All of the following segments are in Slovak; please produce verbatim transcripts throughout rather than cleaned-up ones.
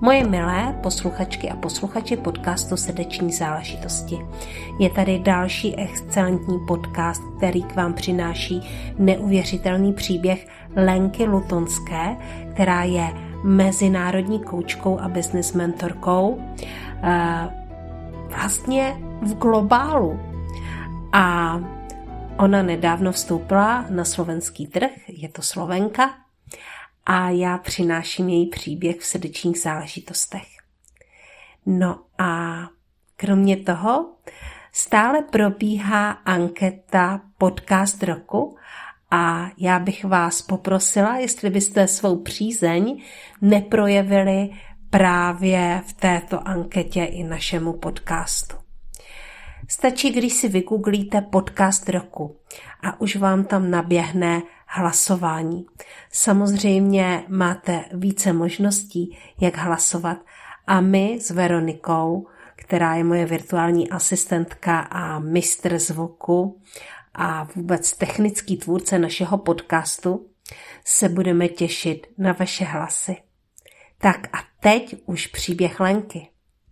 Moje milé posluchačky a posluchači podcastu Srdeční záležitosti. Je tady další excelentní podcast, který k vám přináší neuvěřitelný příběh Lenky Lutonské, která je mezinárodní koučkou a business mentorkou vlastně v globálu. A ona nedávno vstoupila na slovenský trh, je to Slovenka, a já přináším její příběh v srdečních záležitostech. No a kromě toho stále probíhá anketa Podcast roku a já bych vás poprosila, jestli byste svou přízeň neprojevili právě v této anketě i našemu podcastu. Stačí, když si vygooglíte Podcast roku a už vám tam naběhne hlasování. Samozřejmě máte více možností, jak hlasovat, a my s Veronikou, která je moje virtuální asistentka a mistr zvuku a vůbec technický tvůrce našeho podcastu, se budeme těšit na vaše hlasy. Tak a teď už příběh Lenky.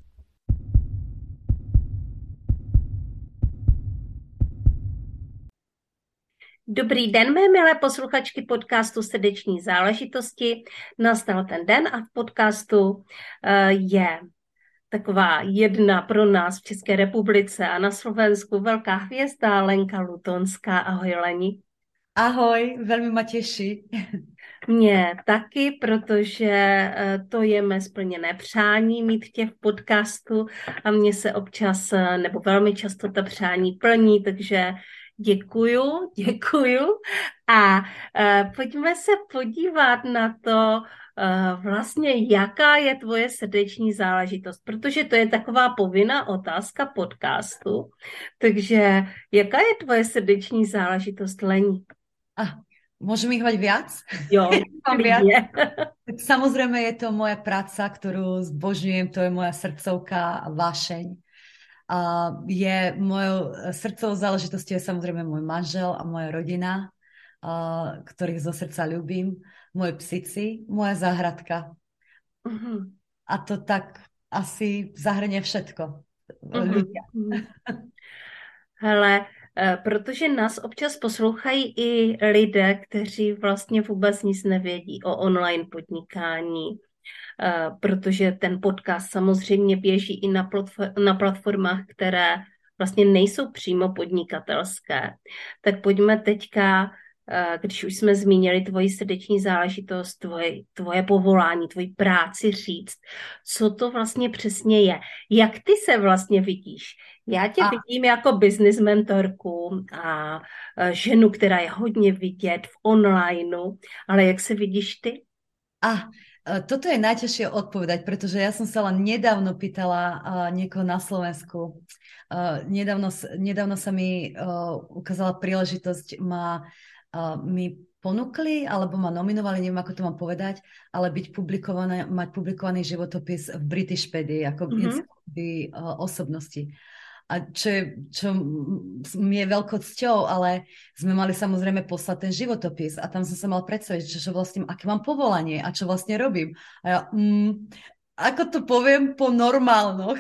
Dobrý den, mé milé posluchačky podcastu Srdeční záležitosti. Nastal ten den a v podcastu je taková jedna pro nás v České republice a na Slovensku velká hvězda Lenka Lutonská. Ahoj, Leni. Ahoj, velmi ma těší. Mně taky, protože to je mé splněné přání mít tě v podcastu a mně se občas, nebo velmi často ta přání plní, takže děkuju, děkuju. A uh, pojďme se podívat na to, uh, vlastně jaká je tvoje srdeční záležitost, protože to je taková povinná otázka podcastu. Takže jaká je tvoje srdeční záležitost, Leni? Ah, môžem ich mať viac? Jo, viac. Tak samozrejme je to moja práca, ktorú zbožňujem, to je moja srdcovka a vášeň. A je mojou srdcovou záležitosťou je samozrejme môj manžel a moja rodina, a, ktorých zo srdca ľúbim, moje psici, moja záhradka. Uh-huh. A to tak asi zahrnie všetko. Uh-huh. Ľudia. Hele, protože nás občas poslouchají i lidé, kteří vlastně vůbec nic nevědí o online podnikání, protože ten podcast samozřejmě běží i na, platform, na platformách, které vlastně nejsou přímo podnikatelské. Tak pojďme teďka, když už jsme zmínili tvoji srdeční záležitost, tvoje, tvoje povolání, tvoji práci říct, co to vlastně přesně je. Jak ty se vlastně vidíš? Já tě a... vidím jako business mentorku a ženu, která je hodně vidět v onlineu, ale jak se vidíš ty? A toto je najťažšie odpovedať, pretože ja som sa len nedávno pýtala uh, niekoho na Slovensku. Uh, nedávno, nedávno sa mi uh, ukázala príležitosť, ma, uh, mi ponúkli, alebo ma nominovali, neviem, ako to mám povedať, ale byť publikované, mať publikovaný životopis v Britishpedii, ako mm-hmm. encyklopédii uh, osobnosti. A čo, je, čo mi je veľkou cťou, ale sme mali samozrejme poslať ten životopis a tam som sa mal predstaviť, že, že vlastne, aké mám povolanie a čo vlastne robím. A ja, mm, ako to poviem po normálnoch,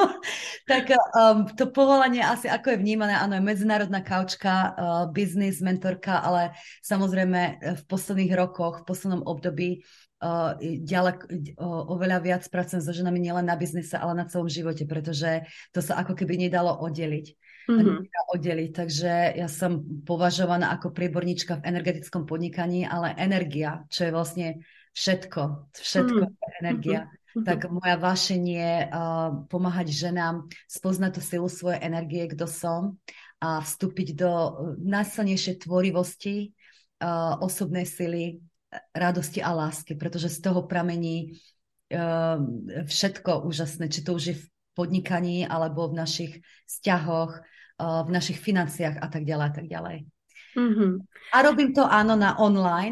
tak um, to povolanie asi ako je vnímané, áno, je medzinárodná kaučka, uh, business mentorka, ale samozrejme v posledných rokoch, v poslednom období Uh, ďalek, uh, oveľa viac pracujem so ženami nielen na biznise, ale na celom živote, pretože to sa ako keby nedalo oddeliť. Mm-hmm. oddeliť. Takže ja som považovaná ako prieborníčka v energetickom podnikaní, ale energia, čo je vlastne všetko, všetko mm-hmm. je energia. Mm-hmm. Tak moja vášeň je uh, pomáhať ženám spoznať tú silu svojej energie, kto som, a vstúpiť do najsilnejšej tvorivosti, uh, osobnej sily, radosti a lásky, pretože z toho pramení uh, všetko úžasné, či to už je v podnikaní, alebo v našich vzťahoch, uh, v našich financiách a tak ďalej, a tak ďalej. Mm-hmm. A robím to áno na online,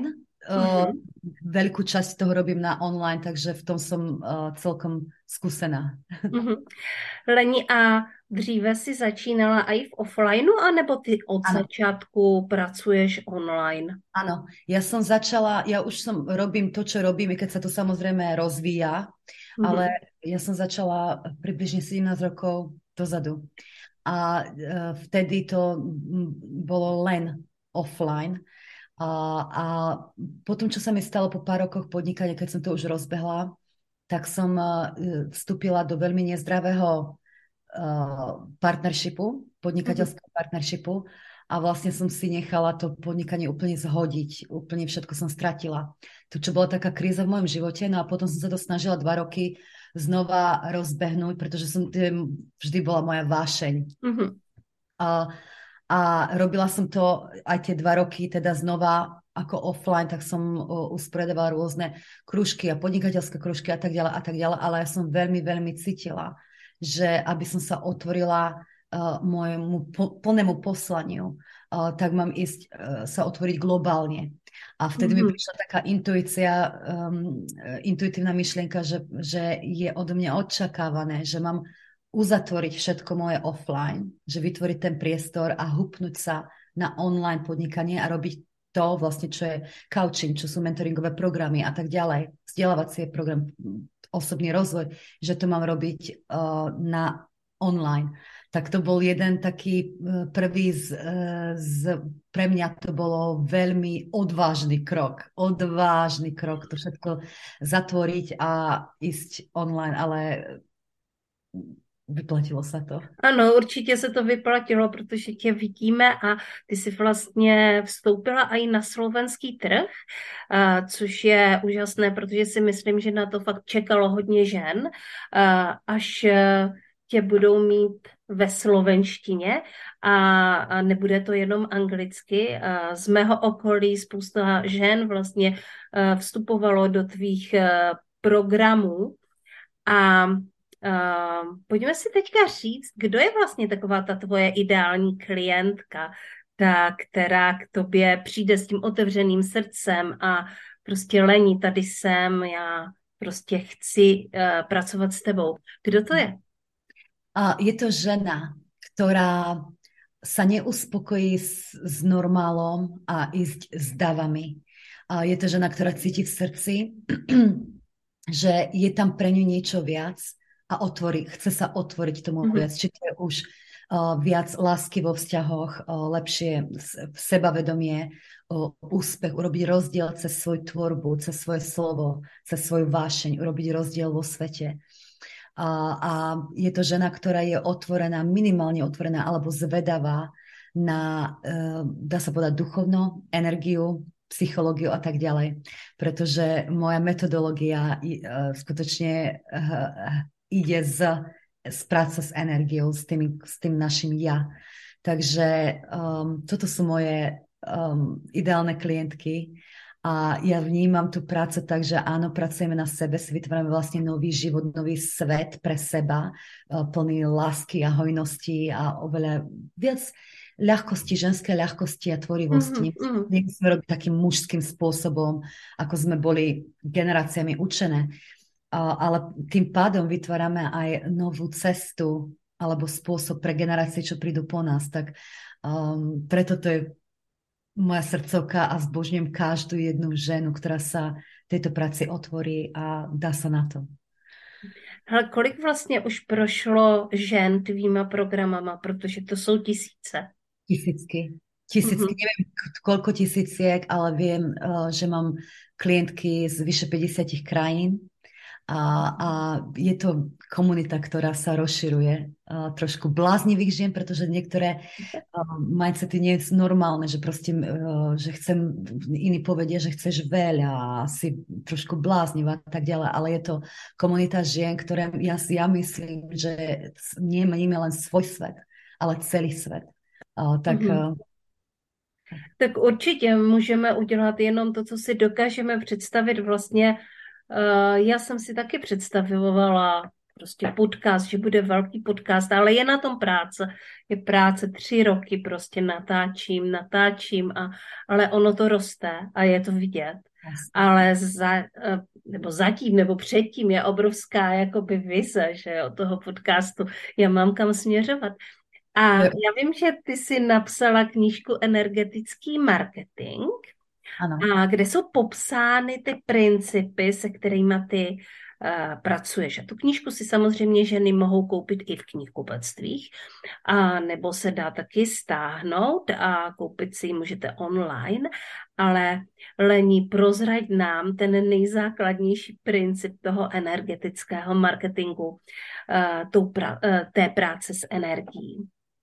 uh, veľkú časť toho robím na online, takže v tom som uh, celkom skúsená. Mm-hmm. Leni, a dříve si začínala i v offlineu, anebo ty od Ano. začátku pracuješ online? Áno, ja som začala, ja už som robím to, čo robím, i keď sa to samozrejme rozvíja, mm-hmm. ale ja som začala približne sedemnásť rokov dozadu. A uh, vtedy to bolo len offline. A, a potom, čo sa mi stalo po pár rokoch podnikania, keď som to už rozbehla, tak som uh, vstúpila do veľmi nezdravého uh, partnershipu, podnikateľského mm-hmm. partnershipu, a vlastne som si nechala to podnikanie úplne zhodiť. Úplne všetko som stratila. To, čo bola taká kríza v mojom živote, no a potom som sa to snažila dva roky znova rozbehnúť, pretože som, vždy bola moja vášeň. Mm-hmm. A, a robila som to aj tie dva roky, teda znova ako offline, tak som usporiadovala rôzne krúžky a podnikateľské krúžky a tak ďalej a tak ďalej, ale ja som veľmi, veľmi cítila, že aby som sa otvorila Uh, môjmu po, plnému poslaniu, uh, tak mám ísť uh, sa otvoriť globálne. A vtedy mm-hmm. mi prišla taká intuícia, um, intuitívna myšlienka, že, že je odo mňa očakávané, že mám uzatvoriť všetko moje offline, že vytvoriť ten priestor a hupnúť sa na online podnikanie a robiť to vlastne, čo je coaching, čo sú mentoringové programy a tak ďalej, vzdelávacie program, osobný rozvoj, že to mám robiť uh, na online. Tak to bol jeden taký prvý z, z, pre mňa to bolo veľmi odvážny krok. Odvážny krok to všetko zatvoriť a ísť online, ale vyplatilo sa to. Ano, určitě se to vyplatilo, protože tě vidíme a ty jsi vlastně vstoupila i na slovenský trh, což je úžasné, protože si myslím, že na to fakt čekalo hodně žen, až tě budou mít ve slovenštině a nebude to jenom anglicky. Z mého okolí spousta žen vlastně vstupovalo do tvých programů a pojďme si teďka říct, kdo je vlastně taková ta tvoje ideální klientka, ta, která k tobě přijde s tím otevřeným srdcem a prostě Leni, tady jsem, já prostě chci pracovat s tebou. Kdo to je? Je to žena, ktorá sa neuspokojí s, s normálom a ísť s davami. Je to žena, ktorá cíti v srdci, že je tam pre ňu niečo viac a otvorí, chce sa otvoriť tomu mm-hmm. viac. Či to je už uh, viac lásky vo vzťahoch, uh, lepšie sebavedomie, uh, úspech, urobiť rozdiel cez svoju tvorbu, cez svoje slovo, cez svoju vášeň, urobiť rozdiel vo svete. A, a je to žena, ktorá je otvorená, minimálne otvorená alebo zvedavá na, uh, dá sa povedať, duchovno, energiu, psychológiu a tak ďalej. Pretože moja metodológia uh, skutočne uh, ide z, z práce s energiou, s tým, s tým našim ja. Takže um, toto sú moje um, ideálne klientky. A ja vnímam tú prácu tak, že áno, pracujeme na sebe, si vytvárame vlastne nový život, nový svet pre seba, plný lásky a hojnosti a oveľa viac ľahkosti, ženské ľahkosti a tvorivosti. Mm-hmm. Nemusíme robiť takým mužským spôsobom, ako sme boli generáciami učené. Ale tým pádom vytvárame aj novú cestu alebo spôsob pre generácie, čo prídu po nás. Tak um, preto to je moja srdcovka a zbožňujem každú jednu ženu, ktorá sa tejto práci otvorí a dá sa na to. Ale kolik vlastně už prošlo žen tvýma programama, protože to jsou tisíce? Tisícky. Tisícky, mm-hmm. neviem koľko tisíciek, ale viem, že mám klientky z vyše päťdesiat krajín. A, a je to komunita, ktorá sa rozširuje. Uh, trošku bláznivých žien, pretože niektoré uh, mindsety nie sú normálne, že proste, uh, že chcem, iní povedia, že chceš veľa a si trošku bláznivá a tak ďalej, ale je to komunita žien, ktoré ja, ja myslím, že nemeníme len svoj svet, ale celý svet. Uh, tak... Mm-hmm. Uh, tak určitě můžeme udělat jenom to, co si dokážeme představit vlastně. Já jsem si taky představovala prostě podcast, že bude velký podcast, ale je na tom práce. Je práce tři roky, prostě natáčím, natáčím, a, ale ono to roste a je to vidět. Jasne. ale za, eh, nebo zatím, nebo předtím je obrovská jakoby vize, že jo, toho podcastu. Já mám kam směřovat. A já vím, že ty jsi napsala knížku Energetický marketing, Áno. a kde jsou popsány ty principy, se kterými ty uh, pracuješ. A tu knížku si samozřejmě ženy mohou koupit i v knihkupectvích, a nebo se dá taky stáhnout a koupit si ji můžete online, ale Lení, prozrať nám ten nejzákladnější princip toho energetického marketingu, uh, tou pra, uh, té práce s energií.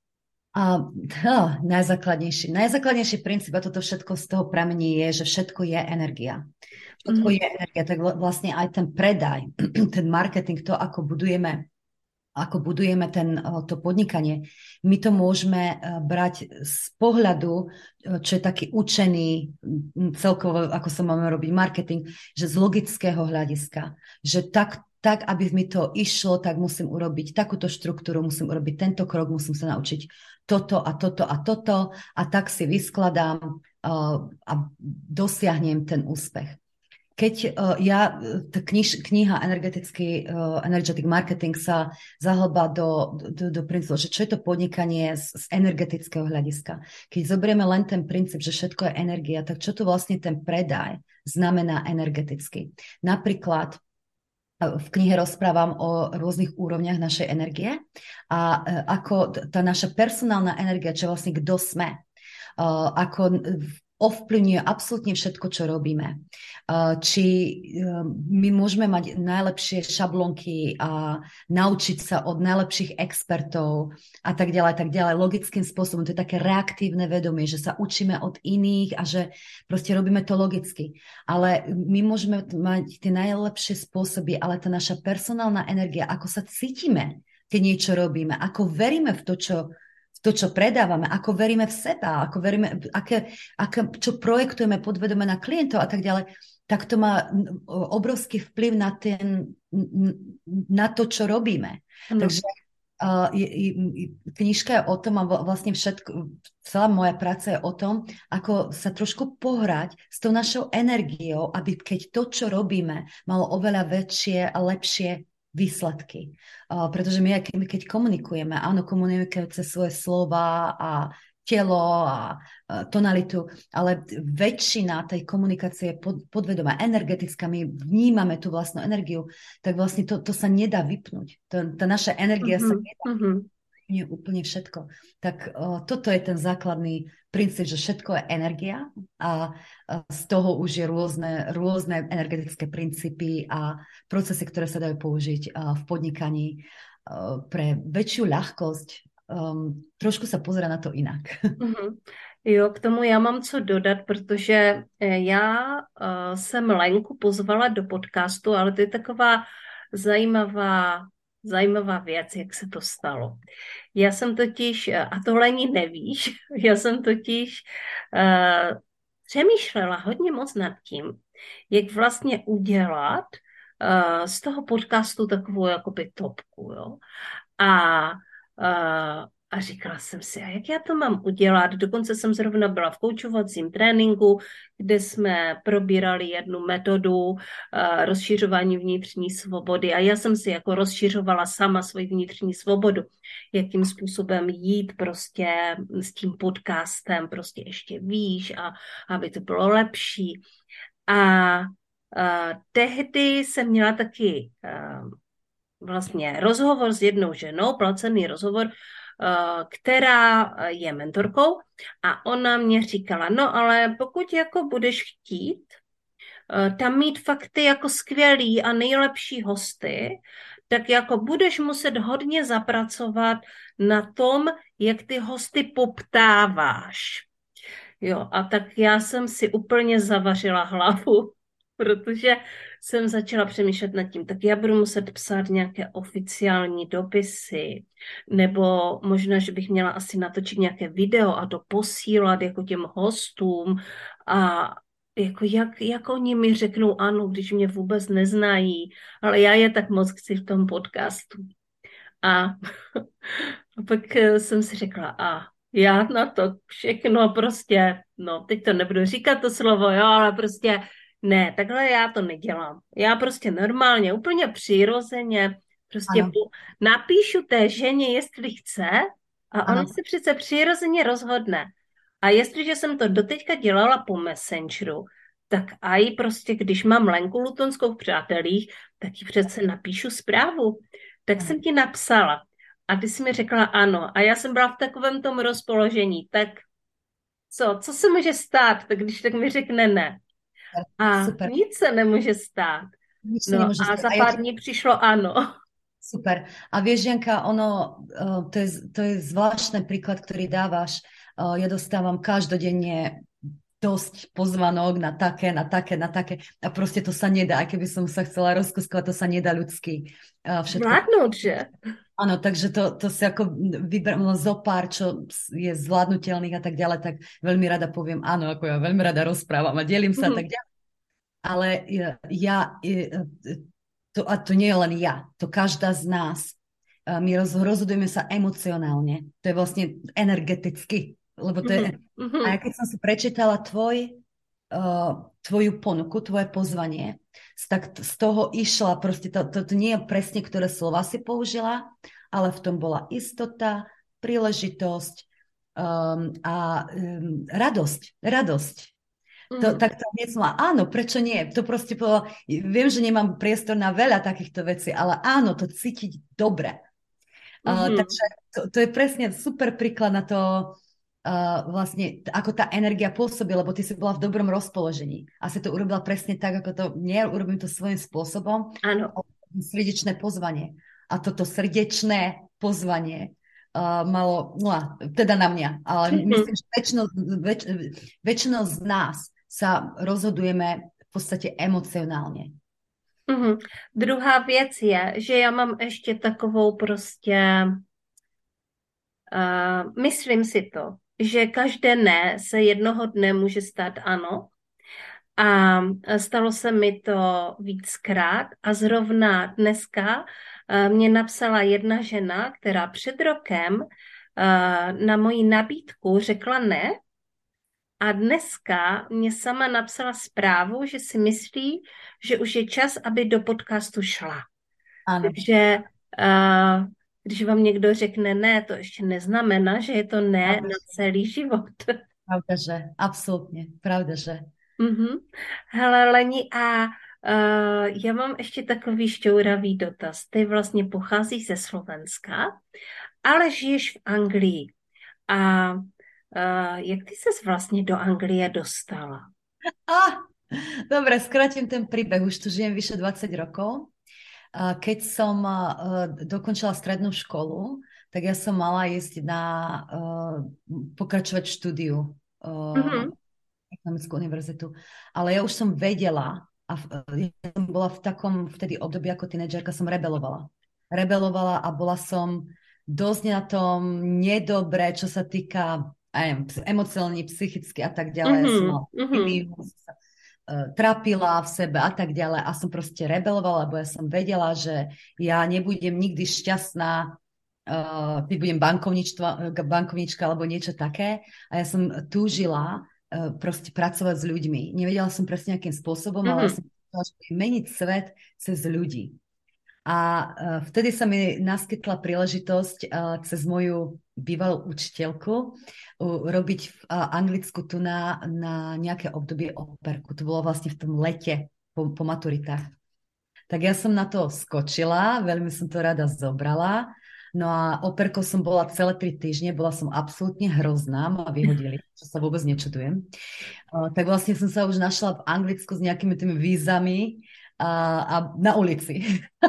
A oh, najzákladnejší, najzákladnejší princíp a toto všetko z toho pramení je, že všetko je energia. Všetko Mhm. je energia, tak vlastne aj ten predaj, ten marketing, to, ako budujeme ako budujeme ten, to podnikanie, my to môžeme brať z pohľadu, čo je taký učený celkovo, ako sa máme robiť marketing, že z logického hľadiska, že tak, tak, aby mi to išlo, tak musím urobiť takúto štruktúru, musím urobiť tento krok, musím sa naučiť toto a toto a toto a tak si vyskladám uh, a dosiahnem ten úspech. Keď uh, ja, kniž, kniha Energetický, uh, Energetic Marketing sa zahlbá do, do, do princípu, že čo je to podnikanie z, z energetického hľadiska. Keď zoberieme len ten princíp, že všetko je energia, tak čo to vlastne ten predaj znamená energeticky. Napríklad v knihe rozprávam o rôznych úrovniach našej energie a ako tá naša personálna energia, čo vlastne kto sme, uh, ako ovplyvňuje absolútne všetko, čo robíme. Či my môžeme mať najlepšie šablonky a naučiť sa od najlepších expertov a tak ďalej, tak ďalej, logickým spôsobom. To je také reaktívne vedomie, že sa učíme od iných a že proste robíme to logicky. Ale my môžeme mať tie najlepšie spôsoby, ale tá naša personálna energia, ako sa cítime, keď niečo robíme, ako veríme v to, čo to, čo predávame, ako veríme v seba, ako veríme, aké, aké, čo projektujeme podvedome na klientov a tak ďalej, tak to má obrovský vplyv na, ten, na to, čo robíme. No. Takže uh, je, je, knižka je o tom a vlastne všetko, celá moja práca je o tom, ako sa trošku pohrať s tou našou energiou, aby keď to, čo robíme, malo oveľa väčšie a lepšie výsledky. Uh, pretože my, keď komunikujeme, áno, komunikujeme cez svoje slova a telo a uh, tonalitu, ale väčšina tej komunikácie je pod, podvedomá, energetická, my vnímame tú vlastnú energiu, tak vlastne to, to sa nedá vypnúť. To, tá naša energia mm-hmm. sa nedá vypnúť. Nie úplne všetko. Tak uh, toto je ten základný princíp, že všetko je energia a uh, z toho už je rôzne, rôzne energetické princípy a procesy, ktoré sa dajú použiť uh, v podnikaní uh, pre väčšiu ľahkosť. Um, trošku sa pozera na to inak. Mm-hmm. Jo, k tomu já mám co dodat, protože já uh, jsem Lenku pozvala do podcastu, ale to je taková zajímavá Zajímavá věc, jak se to stalo. Já jsem totiž, a to Lení nevíš, já jsem totiž uh, přemýšlela hodně moc nad tím, jak vlastně udělat uh, z toho podcastu takovou jakoby topku, jo. A uh, a říkala jsem si, a jak já to mám udělat? Dokonce jsem zrovna byla v koučovacím tréninku, kde jsme probírali jednu metodu uh, rozšiřování vnitřní svobody a já jsem si jako rozšiřovala sama svoji vnitřní svobodu, jakým způsobem jít prostě s tím podcastem prostě ještě výš a aby to bylo lepší. A uh, tehdy jsem měla taky uh, vlastně rozhovor s jednou ženou, placený rozhovor, která je mentorkou a ona mě říkala, no ale pokud jako budeš chtít tam mít fakt ty jako skvělý a nejlepší hosty, tak jako budeš muset hodně zapracovat na tom, jak ty hosty poptáváš. Jo, a tak já jsem si úplně zavařila hlavu, protože jsem začala přemýšlet nad tím, tak já budu muset psát nějaké oficiální dopisy, nebo možná, že bych měla asi natočit nějaké video a to posílat jako těm hostům a jako jak, jak oni mi řeknou ano, když mě vůbec neznají, ale já je tak moc chci v tom podcastu. A, a pak jsem si řekla, a já na to všechno prostě, no teď to nebudu říkat to slovo, jo, ale prostě Ne, takhle já to nedělám. Já prostě normálně, úplně přirozeně, prostě Áno, po, napíšu té ženě, jestli chce, a ona áno. si přece přirozeně rozhodne. A jestliže jsem to doteďka dělala po Messengeru, tak a i prostě, když mám Lenku Lutonskou v přátelích, tak ji přece napíšu zprávu. Tak Áno. jsem ti napsala. A ty jsi mi řekla ano. A já jsem byla v takovém tom rozpoložení. Tak co? Co se může stát? Tak když tak mi řekne ne. A Super. nic se nemůže stát. Nič sa No nemôže a stať. za A ja ti pár dní přišlo ano. super. A vieš, Janka, ono, uh, to je, to je zvláštny príklad, ktorý dávaš. Uh, ja dostávam každodenne dosť pozvanok na také, na také, na také. A proste to sa nedá. Aj keby som sa chcela rozkuskovať, to sa nedá ľudsky. Uh, všetko. Zvládnout, že? Áno, takže to, to si ako vyberám zo pár, čo je zvládnutelných a tak ďalej, tak veľmi rada poviem áno, ako ja veľmi rada rozprávam a delím sa a tak ďalej. Ale ja, to, a to nie je len ja, to každá z nás. My roz, rozhodujeme sa emocionálne. To je vlastne energeticky. Lebo to je, Mm-hmm. a keď som si prečítala tvoj, uh, tvoju ponuku, tvoje pozvanie, tak z toho išla, proste to, to, to nie je presne, ktoré slova si použila, ale v tom bola istota, príležitosť um, a um, radosť. Radosť. To, tak to hneď som áno, prečo nie? To proste povedala, viem, že nemám priestor na veľa takýchto vecí, ale áno, to cítiť dobre. Uh, Mm-hmm. takže to, to je presne super príklad na to, uh, vlastne, ako tá energia pôsobí, lebo ty si bola v dobrom rozpoložení. A si to urobila presne tak, ako to, nie, urobím to svojím spôsobom. Áno. Srdečné pozvanie. A toto srdečné pozvanie uh, malo, no, teda na mňa, ale mm-hmm. myslím, že väčšinou, väč, väčšinou z nás sa rozhodujeme v podstate emocionálně. Mm-hmm. Druhá věc je, že já mám ještě takovou prostě, uh, myslím si to, že každé ne se jednoho dne může stát ano. A stalo se mi to víckrát a zrovna dneska uh, mě napsala jedna žena, která před rokem uh, na moji nabídku řekla ne. A dneska mě sama napsala zprávu, že si myslí, že už je čas, aby do podcastu šla. Ano. Takže uh, když vám někdo řekne ne, to ještě neznamená, že je to ne pravda, na celý život. Pravda, že. Absolutně. Pravda, že. Uh-huh. Hele, Leni, a uh, já mám ještě takový šťouravý dotaz. Ty vlastně pocházíš ze Slovenska, ale žiješ v Anglii. A Uh, jak ty ses vlastně do Anglie dostala? Ah, dobre, skrátim ten príbeh. Už tu žijem vyše dvadsať rokov. Keď som uh, dokončila strednú školu, tak ja som mala ísť na uh, pokračovať štúdiu uh, mm-hmm. ekonomickú univerzitu. Ale ja už som vedela a v, ja som bola v takom vtedy období ako tínedžerka, som rebelovala. Rebelovala a bola som dosť na tom nedobre, čo sa týka emocionálne, psychicky a tak ďalej. Mm-hmm. Ja som mala mm-hmm. uh, trápila v sebe a tak ďalej a som proste rebelovala, lebo ja som vedela, že ja nebudem nikdy šťastná, uh, keď budem bankovnička alebo niečo také a ja som túžila uh, proste pracovať s ľuďmi. Nevedela som presne akým spôsobom, mm-hmm. ale ja som chcela meniť svet cez ľudí. A uh, vtedy sa mi naskytla príležitosť uh, cez moju bývalú učiteľku uh, robiť v uh, Anglicku tu na, na nejaké obdobie operku. To bolo vlastne v tom lete po, po maturitách. Tak ja som na to skočila, veľmi som to rada zobrala. No a operkou som bola celé tri týždne, bola som absolútne hrozná, ma vyhodili, čo sa vôbec nečudujem. Uh, tak vlastne som sa už našla v Anglicku s nejakými tými vízami a, a na ulici.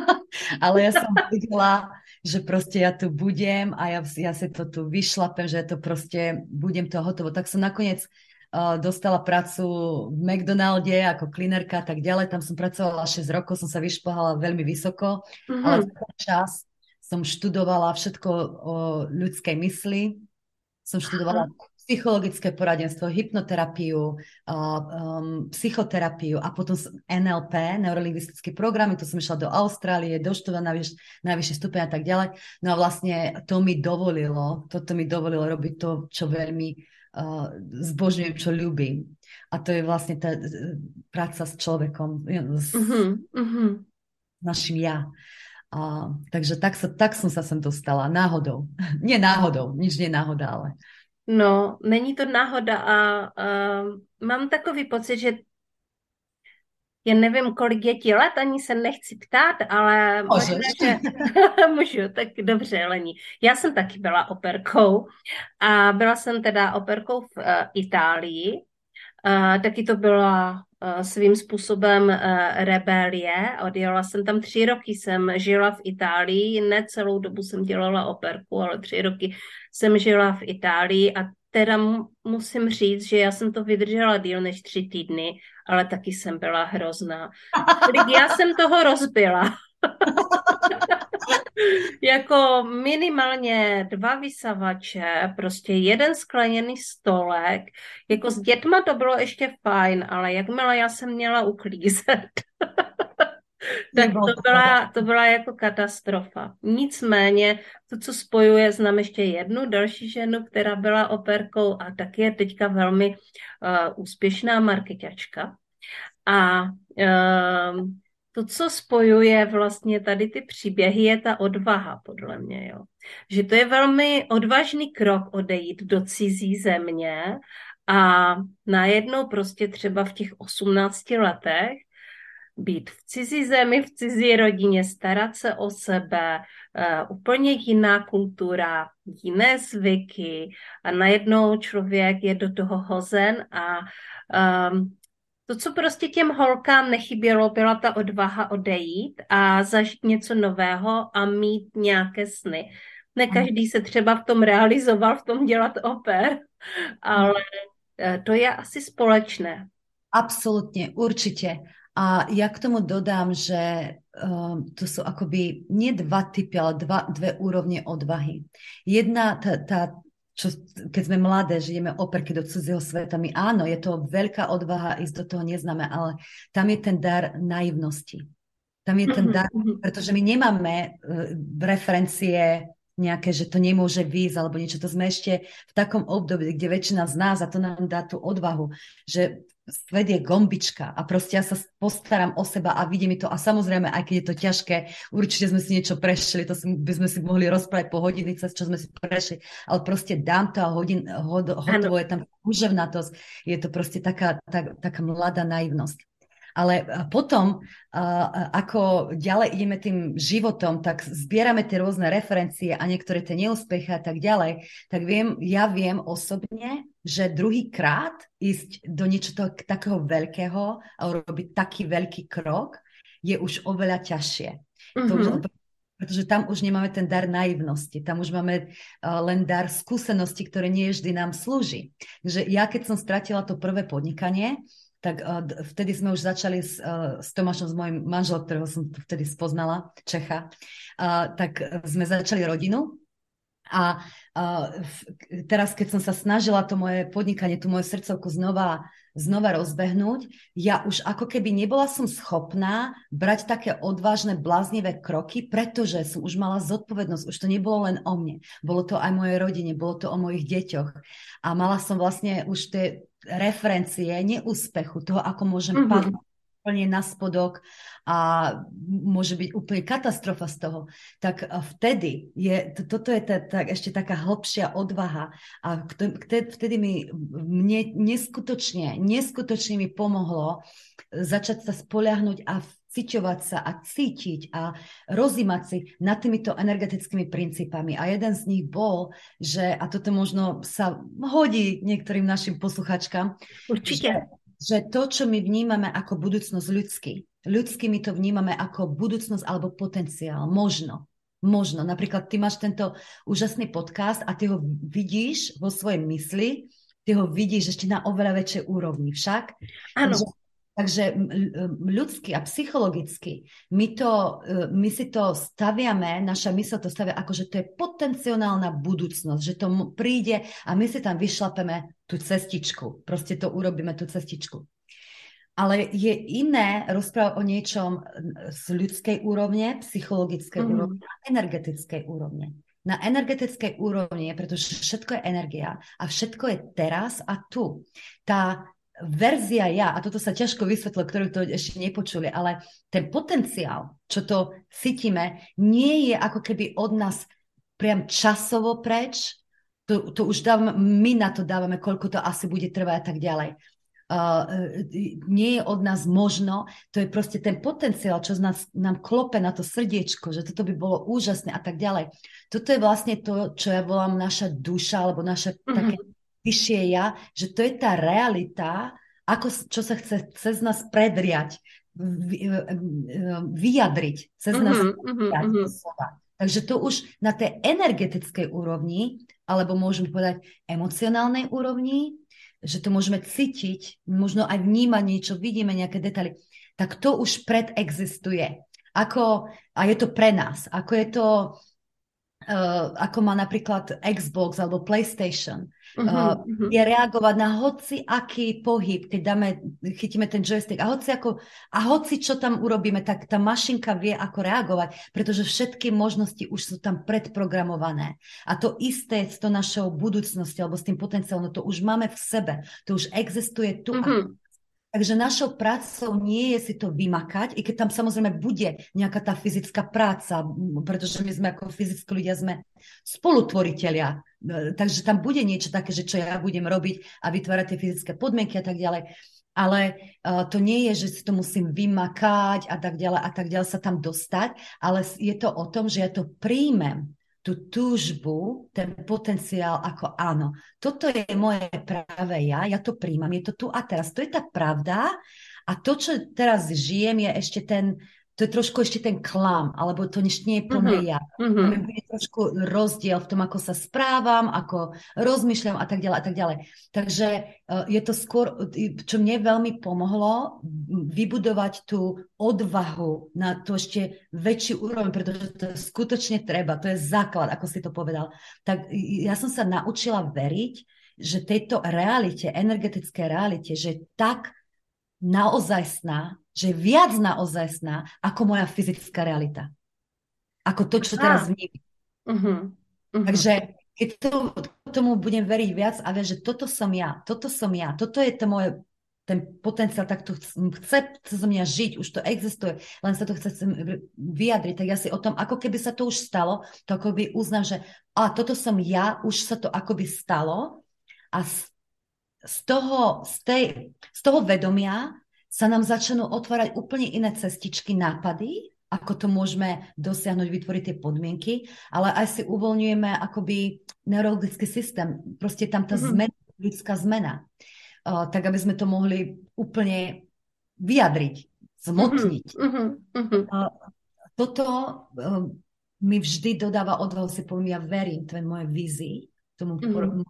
Ale ja som videla, že proste ja tu budem a ja, ja si to tu vyšlapem, že to proste budem to hotovo. Tak som nakoniec uh, dostala prácu v McDonalde ako klinerka a tak ďalej. Tam som pracovala šesť rokov, som sa vyšplhala veľmi vysoko, mm-hmm. ale v ten čas som študovala všetko o ľudskej mysli. Som študovala psychologické poradenstvo, hypnoterapiu, uh, um, psychoterapiu a potom en el pé, neurolingvistické programy, to som išla do Austrálie, doštudovala na najvyšší stupeň a tak ďalej. No a vlastne to mi dovolilo, toto mi dovolilo robiť to, čo veľmi uh, zbožňujem, čo ľúbim. A to je vlastne tá práca s človekom, s mm-hmm. našim ja. Uh, takže tak, sa, tak som sa sem dostala, náhodou. Nie náhodou, nič nie náhoda, ale... No, není to náhoda a, a mám takový pocit, že já nevím, kolik je ti let, ani se nechci ptát, ale Můžeš. možná, že můžu, tak dobře, Lení. Já jsem taky byla operkou a byla jsem teda operkou v uh, Itálii. Uh, taky to byla uh, svým způsobem uh, rebelie. Odjela jsem tam tři roky, jsem žila v Itálii, ne celou dobu jsem dělala operku, ale tři roky jsem žila v Itálii a teda musím říct, že já jsem to vydržela díl než tři týdny, ale taky jsem byla hrozná. Já jsem toho rozbila. Jako minimálně dva vysavače, prostě jeden skleněný stolek. Jako s dětma to bylo ještě fajn, ale jakmile já jsem měla uklízet, tak to byla, to byla jako katastrofa. Nicméně to, co spojuje, znám ještě jednu další ženu, která byla operkou a taky je teďka velmi uh, úspěšná marketačka. A uh, to, co spojuje vlastně tady ty příběhy, je ta odvaha, podle mě. Jo. Že to je velmi odvážný krok odejít do cizí země a najednou prostě třeba v těch osmnácti letech být v cizí zemi, v cizí rodině, starat se o sebe, uh, úplně jiná kultura, jiné zvyky a najednou člověk je do toho hozen a um, to, co prostě těm holkám nechybělo, byla ta odvaha odejít a zažít něco nového a mít nějaké sny. Ne každý se třeba v tom realizoval, v tom dělat oper, ale to je asi společné. Absolutně, určitě. A ja k tomu dodám, že um, to sú akoby nie dva typy, ale dva, dve úrovne odvahy. Jedna, tá, tá, čo, keď sme mladé, žijeme operky do cudzieho sveta, my áno, je to veľká odvaha ísť do toho neznáme, ale tam je ten dar naivnosti. Tam je ten dar, pretože my nemáme uh, referencie nejaké, že to nemôže výjsť, alebo niečo. To sme ešte v takom období, kde väčšina z nás, a to nám dá tú odvahu, že svet je gombička a proste ja sa postaram o seba a vidí mi to a samozrejme, aj keď je to ťažké, určite sme si niečo prešli, to si, by sme si mohli rozprávať po hodinice, čo sme si prešli, ale proste dám to a hodin, hod, hotovo, je tam úževnatosť, je to proste taká, tak, taká mladá naivnosť. Ale potom, ako ďalej ideme tým životom, tak zbierame tie rôzne referencie a niektoré tie neúspechy a tak ďalej, tak viem, ja viem osobne, že druhýkrát ísť do niečoho takého veľkého a urobiť taký veľký krok je už oveľa ťažšie. Mm-hmm. To už, pretože tam už nemáme ten dar naivnosti, tam už máme uh, len dar skúsenosti, ktoré nie vždy nám slúži. Takže ja, keď som stratila to prvé podnikanie, tak uh, vtedy sme už začali s, uh, s Tomášom, s mojím manželom, ktorého som vtedy spoznala, Čecha, uh, tak sme začali rodinu. A uh, teraz, keď som sa snažila to moje podnikanie, tú moju srdcovku znova, znova rozbehnúť, ja už ako keby nebola som schopná brať také odvážne, bláznivé kroky, pretože som už mala zodpovednosť. Už to nebolo len o mne. Bolo to aj o mojej rodine, bolo to o mojich deťoch. A mala som vlastne už tie referencie neúspechu, toho, ako môžem mm-hmm. padnúť úplne na spodok a môže byť úplne katastrofa z toho, tak vtedy je, toto je tá, tá, ešte taká hlbšia odvaha a vtedy mi mne neskutočne, neskutočne mi pomohlo začať sa spoľahnúť a vciťovať sa a cítiť a rozímať si nad týmito energetickými princípami. A jeden z nich bol, že, a toto možno sa hodí niektorým našim posluchačkám, určite, že, že to, čo my vnímame ako budúcnosť ľudský, ľudský my to vnímame ako budúcnosť alebo potenciál. Možno. Možno. Napríklad ty máš tento úžasný podcast a ty ho vidíš vo svojej mysli, ty ho vidíš ešte na oveľa väčšej úrovni. Však? Áno. Takže, takže ľudsky a psychologicky my, to, my si to staviame, naša mysl to stavia ako, že to je potenciálna budúcnosť, že to príde a my si tam vyšlapeme tú cestičku. Proste to urobíme, tú cestičku. Ale je iné rozprávať o niečom z ľudskej úrovne, psychologickej mm. úrovne a energetickej úrovne. na energetickej úrovni, pretože všetko je energia a všetko je teraz a tu. Tá verzia ja, a toto sa ťažko vysvetlilo, ktorú to ešte nepočuli, ale ten potenciál, čo to cítime, nie je ako keby od nás priam časovo preč, to, to už dávame, my na to dávame, koľko to asi bude trvať a tak ďalej. Uh, nie je od nás možno, to je proste ten potenciál, čo z nás, nám klope na to srdiečko, že toto by bolo úžasné a tak ďalej. Toto je vlastne to, čo ja volám naša duša, alebo naše mm-hmm. také vyššie ja, že to je tá realita, ako, čo sa chce cez nás predriať, vy, vyjadriť, cez mm-hmm. nás predriať mm-hmm. slova. Takže to už na tej energetickej úrovni, alebo môžeme povedať emocionálnej úrovni, že to môžeme cítiť, možno aj vnímať niečo, vidíme nejaké detaily, tak to už predexistuje. Ako, a je to pre nás. Ako je to, uh, ako má napríklad Xbox alebo PlayStation. Uh, uh-huh. Je reagovať na hoci aký pohyb, keď dáme, chytíme ten joystick a hoci, ako, a hoci čo tam urobíme, tak tá mašinka vie ako reagovať, pretože všetky možnosti už sú tam predprogramované. A to isté s to našou budúcnosťou alebo s tým potenciálom, to už máme v sebe, to už existuje tu. Uh-huh. A takže našou prácou nie je si to vymakať, i keď tam samozrejme bude nejaká tá fyzická práca, pretože my sme ako fyzickí ľudia sme spolutvoritelia. Takže tam bude niečo také, že čo ja budem robiť a vytvárať tie fyzické podmienky a tak ďalej. Ale uh, to nie je, že si to musím vymakať a tak ďalej a tak ďalej sa tam dostať, ale je to o tom, že ja to príjmem, tú túžbu, ten potenciál ako áno. Toto je moje práve ja, ja to príjmam, je to tu a teraz. To je tá pravda a to, čo teraz žijem, je ešte ten, to je trošku ešte ten klam, alebo to ešte nie je plné uh-huh. ja. Uh-huh. Je trošku rozdiel v tom, ako sa správam, ako rozmýšľam a tak ďalej a tak ďalej. Takže uh, je to skôr, čo mne veľmi pomohlo, vybudovať tú odvahu na to ešte väčší úroveň, pretože to skutočne treba, to je základ, ako si to povedal. Tak ja som sa naučila veriť, že tejto realite, energetické realite, že tak naozajstná, že je viac naozajstná ako moja fyzická realita. Ako to, čo teraz vnímam. Uh-huh. Uh-huh. Takže keď to, tomu budem veriť viac a viac, že toto som ja, toto som ja, toto je to moje, ten potenciál, tak to chce, chce zo mňa žiť, už to existuje, len sa to chce vyjadriť, tak ja si o tom, ako keby sa to už stalo, to akoby uznám, že a toto som ja, už sa to akoby stalo a z, z, toho, z, tej, z toho vedomia sa nám začnú otvárať úplne iné cestičky, nápady, ako to môžeme dosiahnuť, vytvoriť tie podmienky, ale aj si uvoľňujeme akoby neurologický systém. Proste tam tá mm-hmm. zmena, ľudská zmena. Uh, tak, aby sme to mohli úplne vyjadriť, zmotniť. Mm-hmm. Mm-hmm. Uh, toto uh, mi vždy dodáva odvahu, si poviem, ja verím tvojej mojej vízii, tomu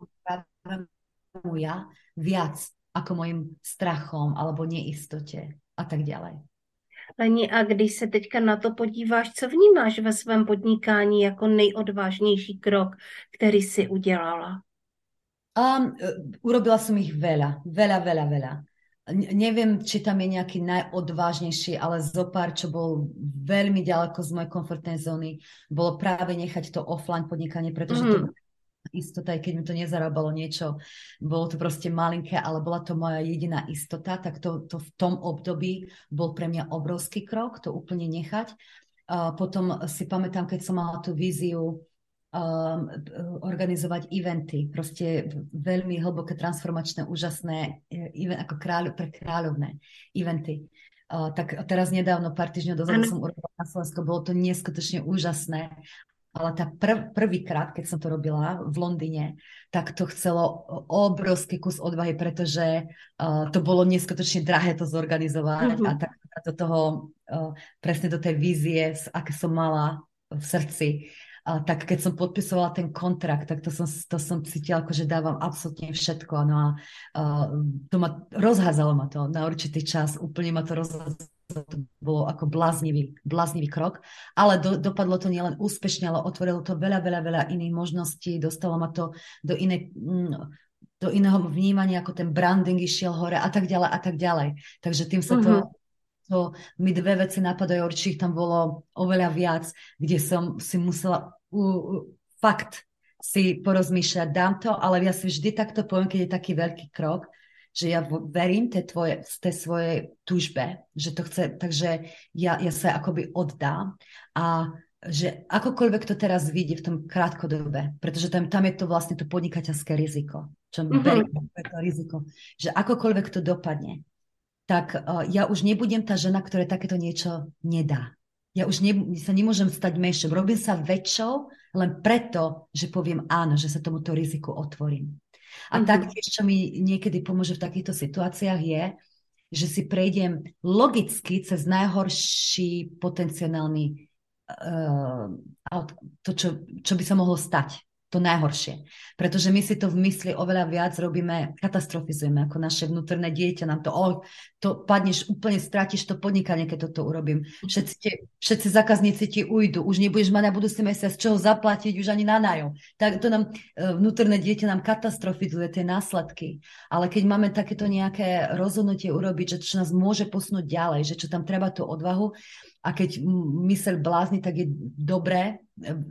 mm-hmm. ja viac ako mojim strachom alebo neistote a tak ďalej. Leni, a když se teďka na to podíváš, co vnímáš ve svém podnikání jako nejodvážnější krok, který si udělala? Um, urobila som ich veľa, veľa, veľa, veľa. N- neviem, či tam je nejaký najodvážnejší, ale zopár, čo bol veľmi ďaleko z mojej komfortnej zóny, bolo práve nechať to offline podnikanie, pretože mm. to bola istota, aj keď mi to nezarábalo niečo, bolo to proste malinké, ale bola to moja jediná istota, tak to, to v tom období bol pre mňa obrovský krok, to úplne nechať. Uh, potom si pamätám, keď som mala tú víziu Um, organizovať eventy, proste veľmi hlboké, transformačné, úžasné, event, ako kráľ, pre kráľovné eventy. Uh, tak teraz nedávno, pár týždňov dozadu som urobila na Slovensku, bolo to neskutočne úžasné, ale tá prv, prvýkrát, keď som to robila v Londýne, tak to chcelo obrovský kus odvahy, pretože uh, to bolo neskutočne drahé to zorganizovať mm-hmm. a tak do toho, uh, presne do tej vízie, aké som mala v srdci. A tak keď som podpisovala ten kontrakt, tak to som, to som cítila, ako, že dávam absolútne všetko. No a uh, to ma, rozházalo ma to na určitý čas, úplne ma to rozházalo, to bolo ako bláznivý, bláznivý krok, ale do, dopadlo to nielen úspešne, ale otvorilo to veľa, veľa, veľa iných možností, dostalo ma to do, iné, do iného vnímania, ako ten branding išiel hore a tak ďalej a tak ďalej. Takže tým sa to... Mm-hmm. To mi dve veci napadajú, určite tam bolo oveľa viac, kde som si musela u, u, fakt si porozmýšľať, dám to, ale ja si vždy takto poviem, keď je taký veľký krok, že ja verím tej, tvoje, tej svojej túžbe, že to chce, takže ja, ja sa akoby oddám a že akokoľvek to teraz vidí v tom krátkodobe, pretože tam, tam je to vlastne to podnikateľské riziko, čo mm-hmm. beriem to riziko, že akokoľvek to dopadne, tak uh, ja už nebudem tá žena, ktorá takéto niečo nedá. Ja už ne, sa nemôžem stať menšou. Robím sa väčšou len preto, že poviem áno, že sa tomuto riziku otvorím. A mm-hmm. taktiež, čo mi niekedy pomôže v takýchto situáciách je, že si prejdem logicky cez najhorší potenciálny uh, to, čo, čo by sa mohlo stať. To najhoršie. Pretože my si to v mysli oveľa viac robíme, katastrofizujeme, ako naše vnútorné dieťa nám to, oh, to padneš, úplne strátiš to podnikanie, keď toto urobím. Všetci, te, všetci zákazníci ti ujdu, už nebudeš mať na budúci mesiac z čoho zaplatiť, už ani na nájom. Tak to nám, vnútorné dieťa nám katastrofizuje tie následky. Ale keď máme takéto nejaké rozhodnutie urobiť, že čo nás môže posunúť ďalej, že čo tam treba tú odvahu, a keď myseľ blázni, tak je dobré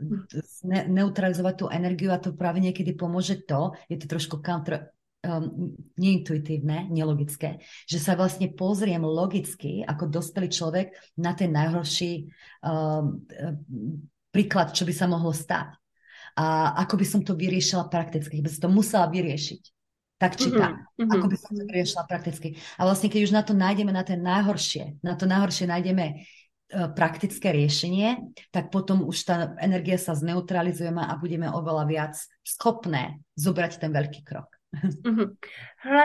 ne- neutralizovať tú energiu a to práve niekedy pomôže to, je to trošku counter, um, neintuitívne, nelogické, že sa vlastne pozriem logicky ako dospelý človek na ten najhorší um, príklad, čo by sa mohlo stať. A ako by som to vyriešila prakticky, by som to musela vyriešiť. Tak či tak. Mm-hmm. Ako by som to vyriešila prakticky. A vlastne, keď už na to nájdeme, na ten najhoršie, na to najhoršie nájdeme praktické riešenie, tak potom už tá energia sa zneutralizujeme a budeme oveľa viac schopné zobrať ten veľký krok. Mm-hmm. Hele,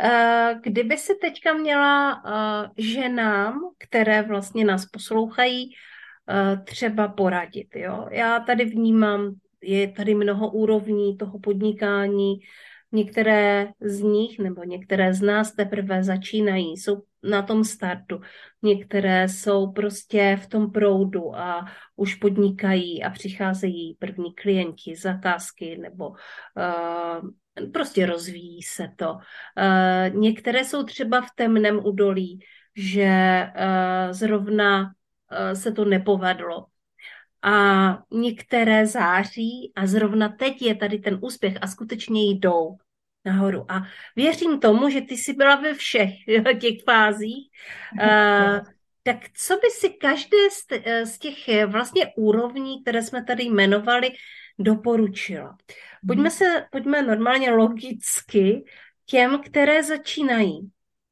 kdyby si teďka měla ženám, které vlastně nás poslouchají, třeba poradit, jo? Já tady vnímám, je tady mnoho úrovní toho podnikání, některé z nich nebo některé z nás teprve začínají, jsou na tom startu. Některé jsou prostě v tom proudu a už podnikají a přicházejí první klienti, zakázky nebo uh, prostě rozvíjí se to. Uh, některé jsou třeba v temném údolí, že uh, zrovna uh, se to nepovedlo. A některé září a zrovna teď je tady ten úspěch a skutečně jdou nahoru. A věřím tomu, že ty jsi byla ve všech těch fázích. Uh, tak co by si každé z, z těch vlastně úrovní, které jsme tady jmenovali, doporučila? Pojďme se, pojďme normálně logicky těm, které začínají.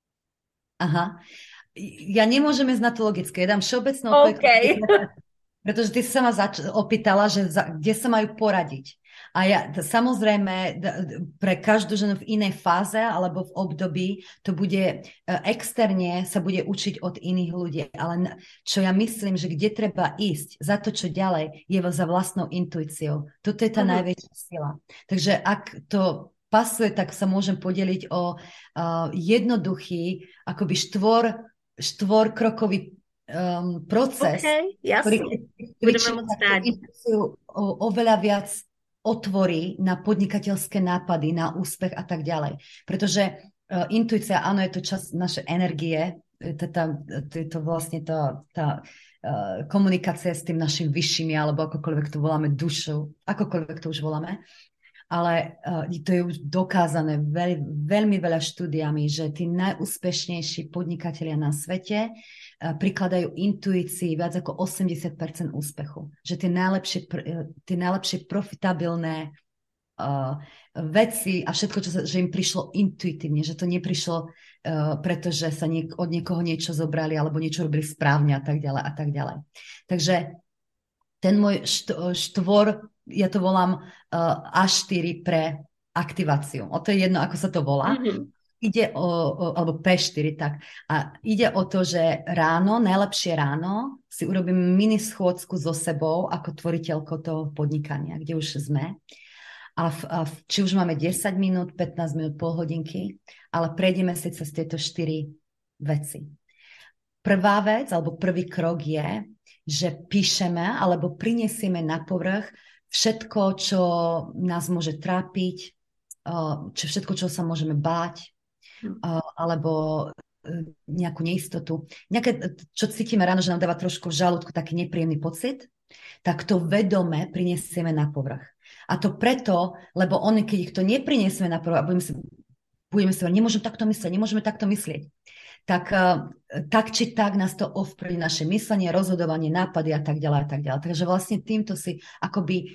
Aha. Ja nemôžem ísť na to logické. Ja dám všeobecnú odpoveď. Okay. Pretože ty sa ma zač- opýtala, že za, kde sa majú poradiť. A ja samozrejme pre každú ženu v inej fáze alebo v období to bude externe, sa bude učiť od iných ľudí. Ale čo ja myslím, že kde treba ísť za to, čo ďalej, je za vlastnou intuíciou. Toto je tá mm. najväčšia sila. Takže ak to pasuje, tak sa môžem podeliť o uh, jednoduchý, akoby štvor, štvorkrokový Um, proces, okay, ktorý, ktorý oveľa viac otvorí na podnikateľské nápady, na úspech a tak ďalej. Pretože uh, intuícia, áno, je to čas naše energie, to, tá, to je to vlastne tá, tá uh, komunikácia s tým našim vyššími, alebo akokoľvek to voláme dušou, akokoľvek to už voláme. Ale uh, to je už dokázané veľ, veľmi veľa štúdiami, že tí najúspešnejší podnikatelia na svete uh, prikladajú intuícii viac ako osemdesiat percent úspechu. Že tie najlepšie, tie najlepšie profitabilné uh, veci a všetko, čo sa, že im prišlo intuitívne, že to neprišlo, uh, pretože sa niek- od niekoho niečo zobrali alebo niečo robili správne a tak ďalej a tak ďalej. Takže ten môj št- štvor, ja to volám uh, á štyri pre aktiváciu. O to je jedno, ako sa to volá. Mm-hmm. Ide o, o, alebo pé štyri, tak. A ide o to, že ráno, najlepšie ráno, si urobím mini schôdzku so sebou ako tvoriteľko toho podnikania, kde už sme. A, v, a v, či už máme desať minút, pätnásť minút, pol hodinky, ale prejdeme si cez tieto štyri veci. Prvá vec, alebo prvý krok je, že píšeme alebo prinesieme na povrch všetko, čo nás môže trápiť, čo všetko, čo sa môžeme báť, alebo nejakú neistotu. Nejaké, čo cítime ráno, že nám dáva trošku v žalúdku taký nepríjemný pocit, tak to vedome prinesieme na povrch. A to preto, lebo oni, keď ich to nepriniesme na prv a budeme si, budeme si nemôžeme takto myslieť, nemôžeme takto myslieť, tak, tak či tak nás to ovplyvní naše myslenie, rozhodovanie, nápady a tak ďalej a tak ďalej. Takže vlastne týmto si akoby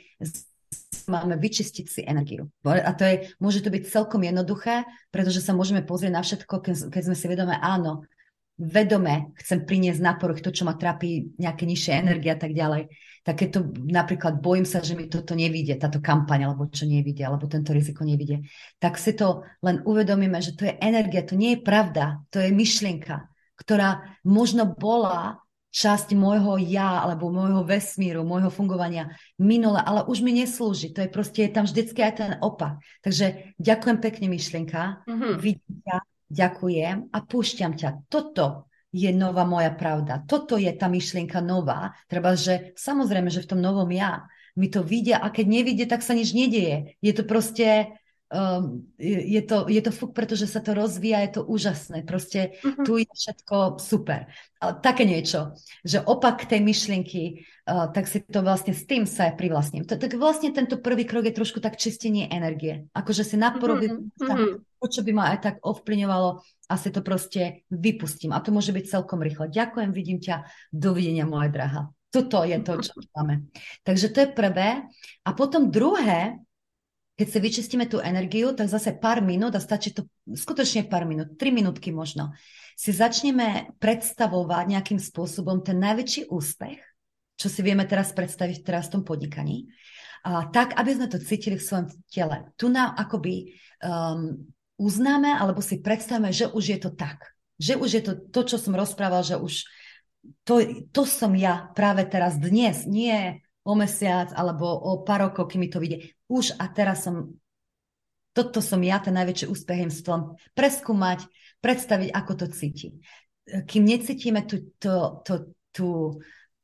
máme vyčistiť si energiu. A to je, môže to byť celkom jednoduché, pretože sa môžeme pozrieť na všetko, keď, keď sme si vedomé, áno, vedome chcem priniesť na povrch to, čo ma trápi, nejaké nižšie energie a tak ďalej. Tak keď to napríklad bojím sa, že mi toto nevíde, táto kampaň, alebo čo nevíde, alebo tento riziko nevíde, tak si to len uvedomíme, že to je energia, to nie je pravda, to je myšlienka, ktorá možno bola časť môjho ja, alebo môjho vesmíru, môjho fungovania minule, ale už mi neslúži. To je proste, je tam vždycky aj ten opak. Takže ďakujem pekne, myšlienka, mm-hmm. vidím ťa, ďakujem a púšťam ťa. Toto je nová moja pravda. Toto je tá myšlienka nová. Treba, že samozrejme, že v tom novom ja mi to vidia a keď nevidie, tak sa nič nedieje. Je to proste, um, je, to, je to fuk, pretože sa to rozvíja, je to úžasné. Proste uh-huh. tu je všetko super. Ale také niečo, že opak tej myšlienky, uh, tak si to vlastne s tým sa privlastním. Tak vlastne tento prvý krok je trošku tak čistenie energie. Akože si naporovím uh-huh. to, čo by ma aj tak ovplyvňovalo, asi to proste vypustím. A to môže byť celkom rýchlo. Ďakujem, vidím ťa. Dovidenia, moja drahá. Toto je to, čo máme. Takže to je prvé. A potom druhé, keď si vyčistíme tú energiu, tak zase pár minút, a stačí to skutočne pár minút, tri minútky možno, si začneme predstavovať nejakým spôsobom ten najväčší úspech, čo si vieme teraz predstaviť teraz v tom podnikaní, a tak, aby sme to cítili v svojom tele. Tu nám akoby um, uznáme, alebo si predstavíme, že už je to tak. Že už je to to, čo som rozprával, že už to, to som ja práve teraz, dnes, nie o mesiac, alebo o pár rokov, kým mi to vyjde. Už a teraz som, toto som ja, ten najväčší úspech im stvom preskúmať, predstaviť, ako to cíti. Kým necítime tú, to, to, tú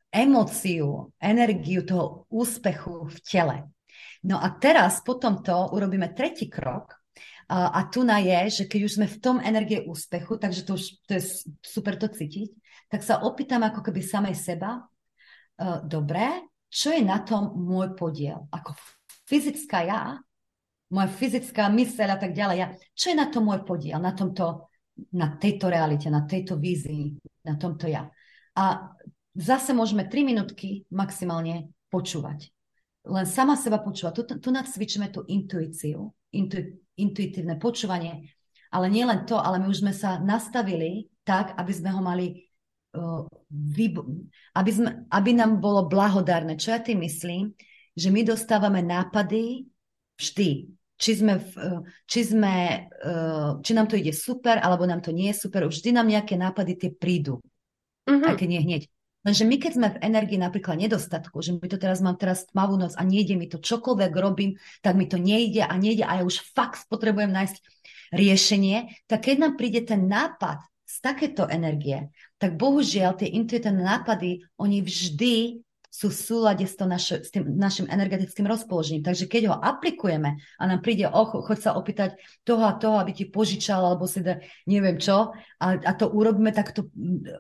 emóciu, energiu toho úspechu v tele. No a teraz po tomto urobíme tretí krok, a tu na je, že keď už sme v tom energie úspechu, takže to už to je super to cítiť, tak sa opýtam ako keby samej seba, uh, dobre, čo je na tom môj podiel? Ako fyzická ja, moja fyzická myseľ a tak ďalej, ja, čo je na tom môj podiel? Na tomto, na tejto realite, na tejto vízii, na tomto ja. A zase môžeme tri minútky maximálne počúvať. Len sama seba počúvať. Tu, tu nacvičíme tú intuíciu, intu, intuitívne počúvanie, ale nie len to, ale my už sme sa nastavili tak, aby sme ho mali, uh, vyb- aby, sme, aby nám bolo blahodárne. Čo ja tým myslím? Že my dostávame nápady vždy. Či, sme, v, či, sme, uh, či nám to ide super, alebo nám to nie je super. Vždy nám nejaké nápady tie prídu. Mm-hmm. Také nie hneď. Lenže my, keď sme v energii napríklad nedostatku, že my to teraz mám teraz tmavú noc a nejde mi to, čokoľvek robím, tak mi to nejde a nejde a ja už fakt potrebujem nájsť riešenie, tak keď nám príde ten nápad z takéto energie, tak bohužiaľ tie intuitívne nápady, oni vždy sú v súlade s, to naše, s tým našim energetickým rozpoložením. Takže keď ho aplikujeme a nám príde, oh, choď sa opýtať toho a toho, aby ti požičal, alebo si da, neviem čo, a, a to urobíme, tak to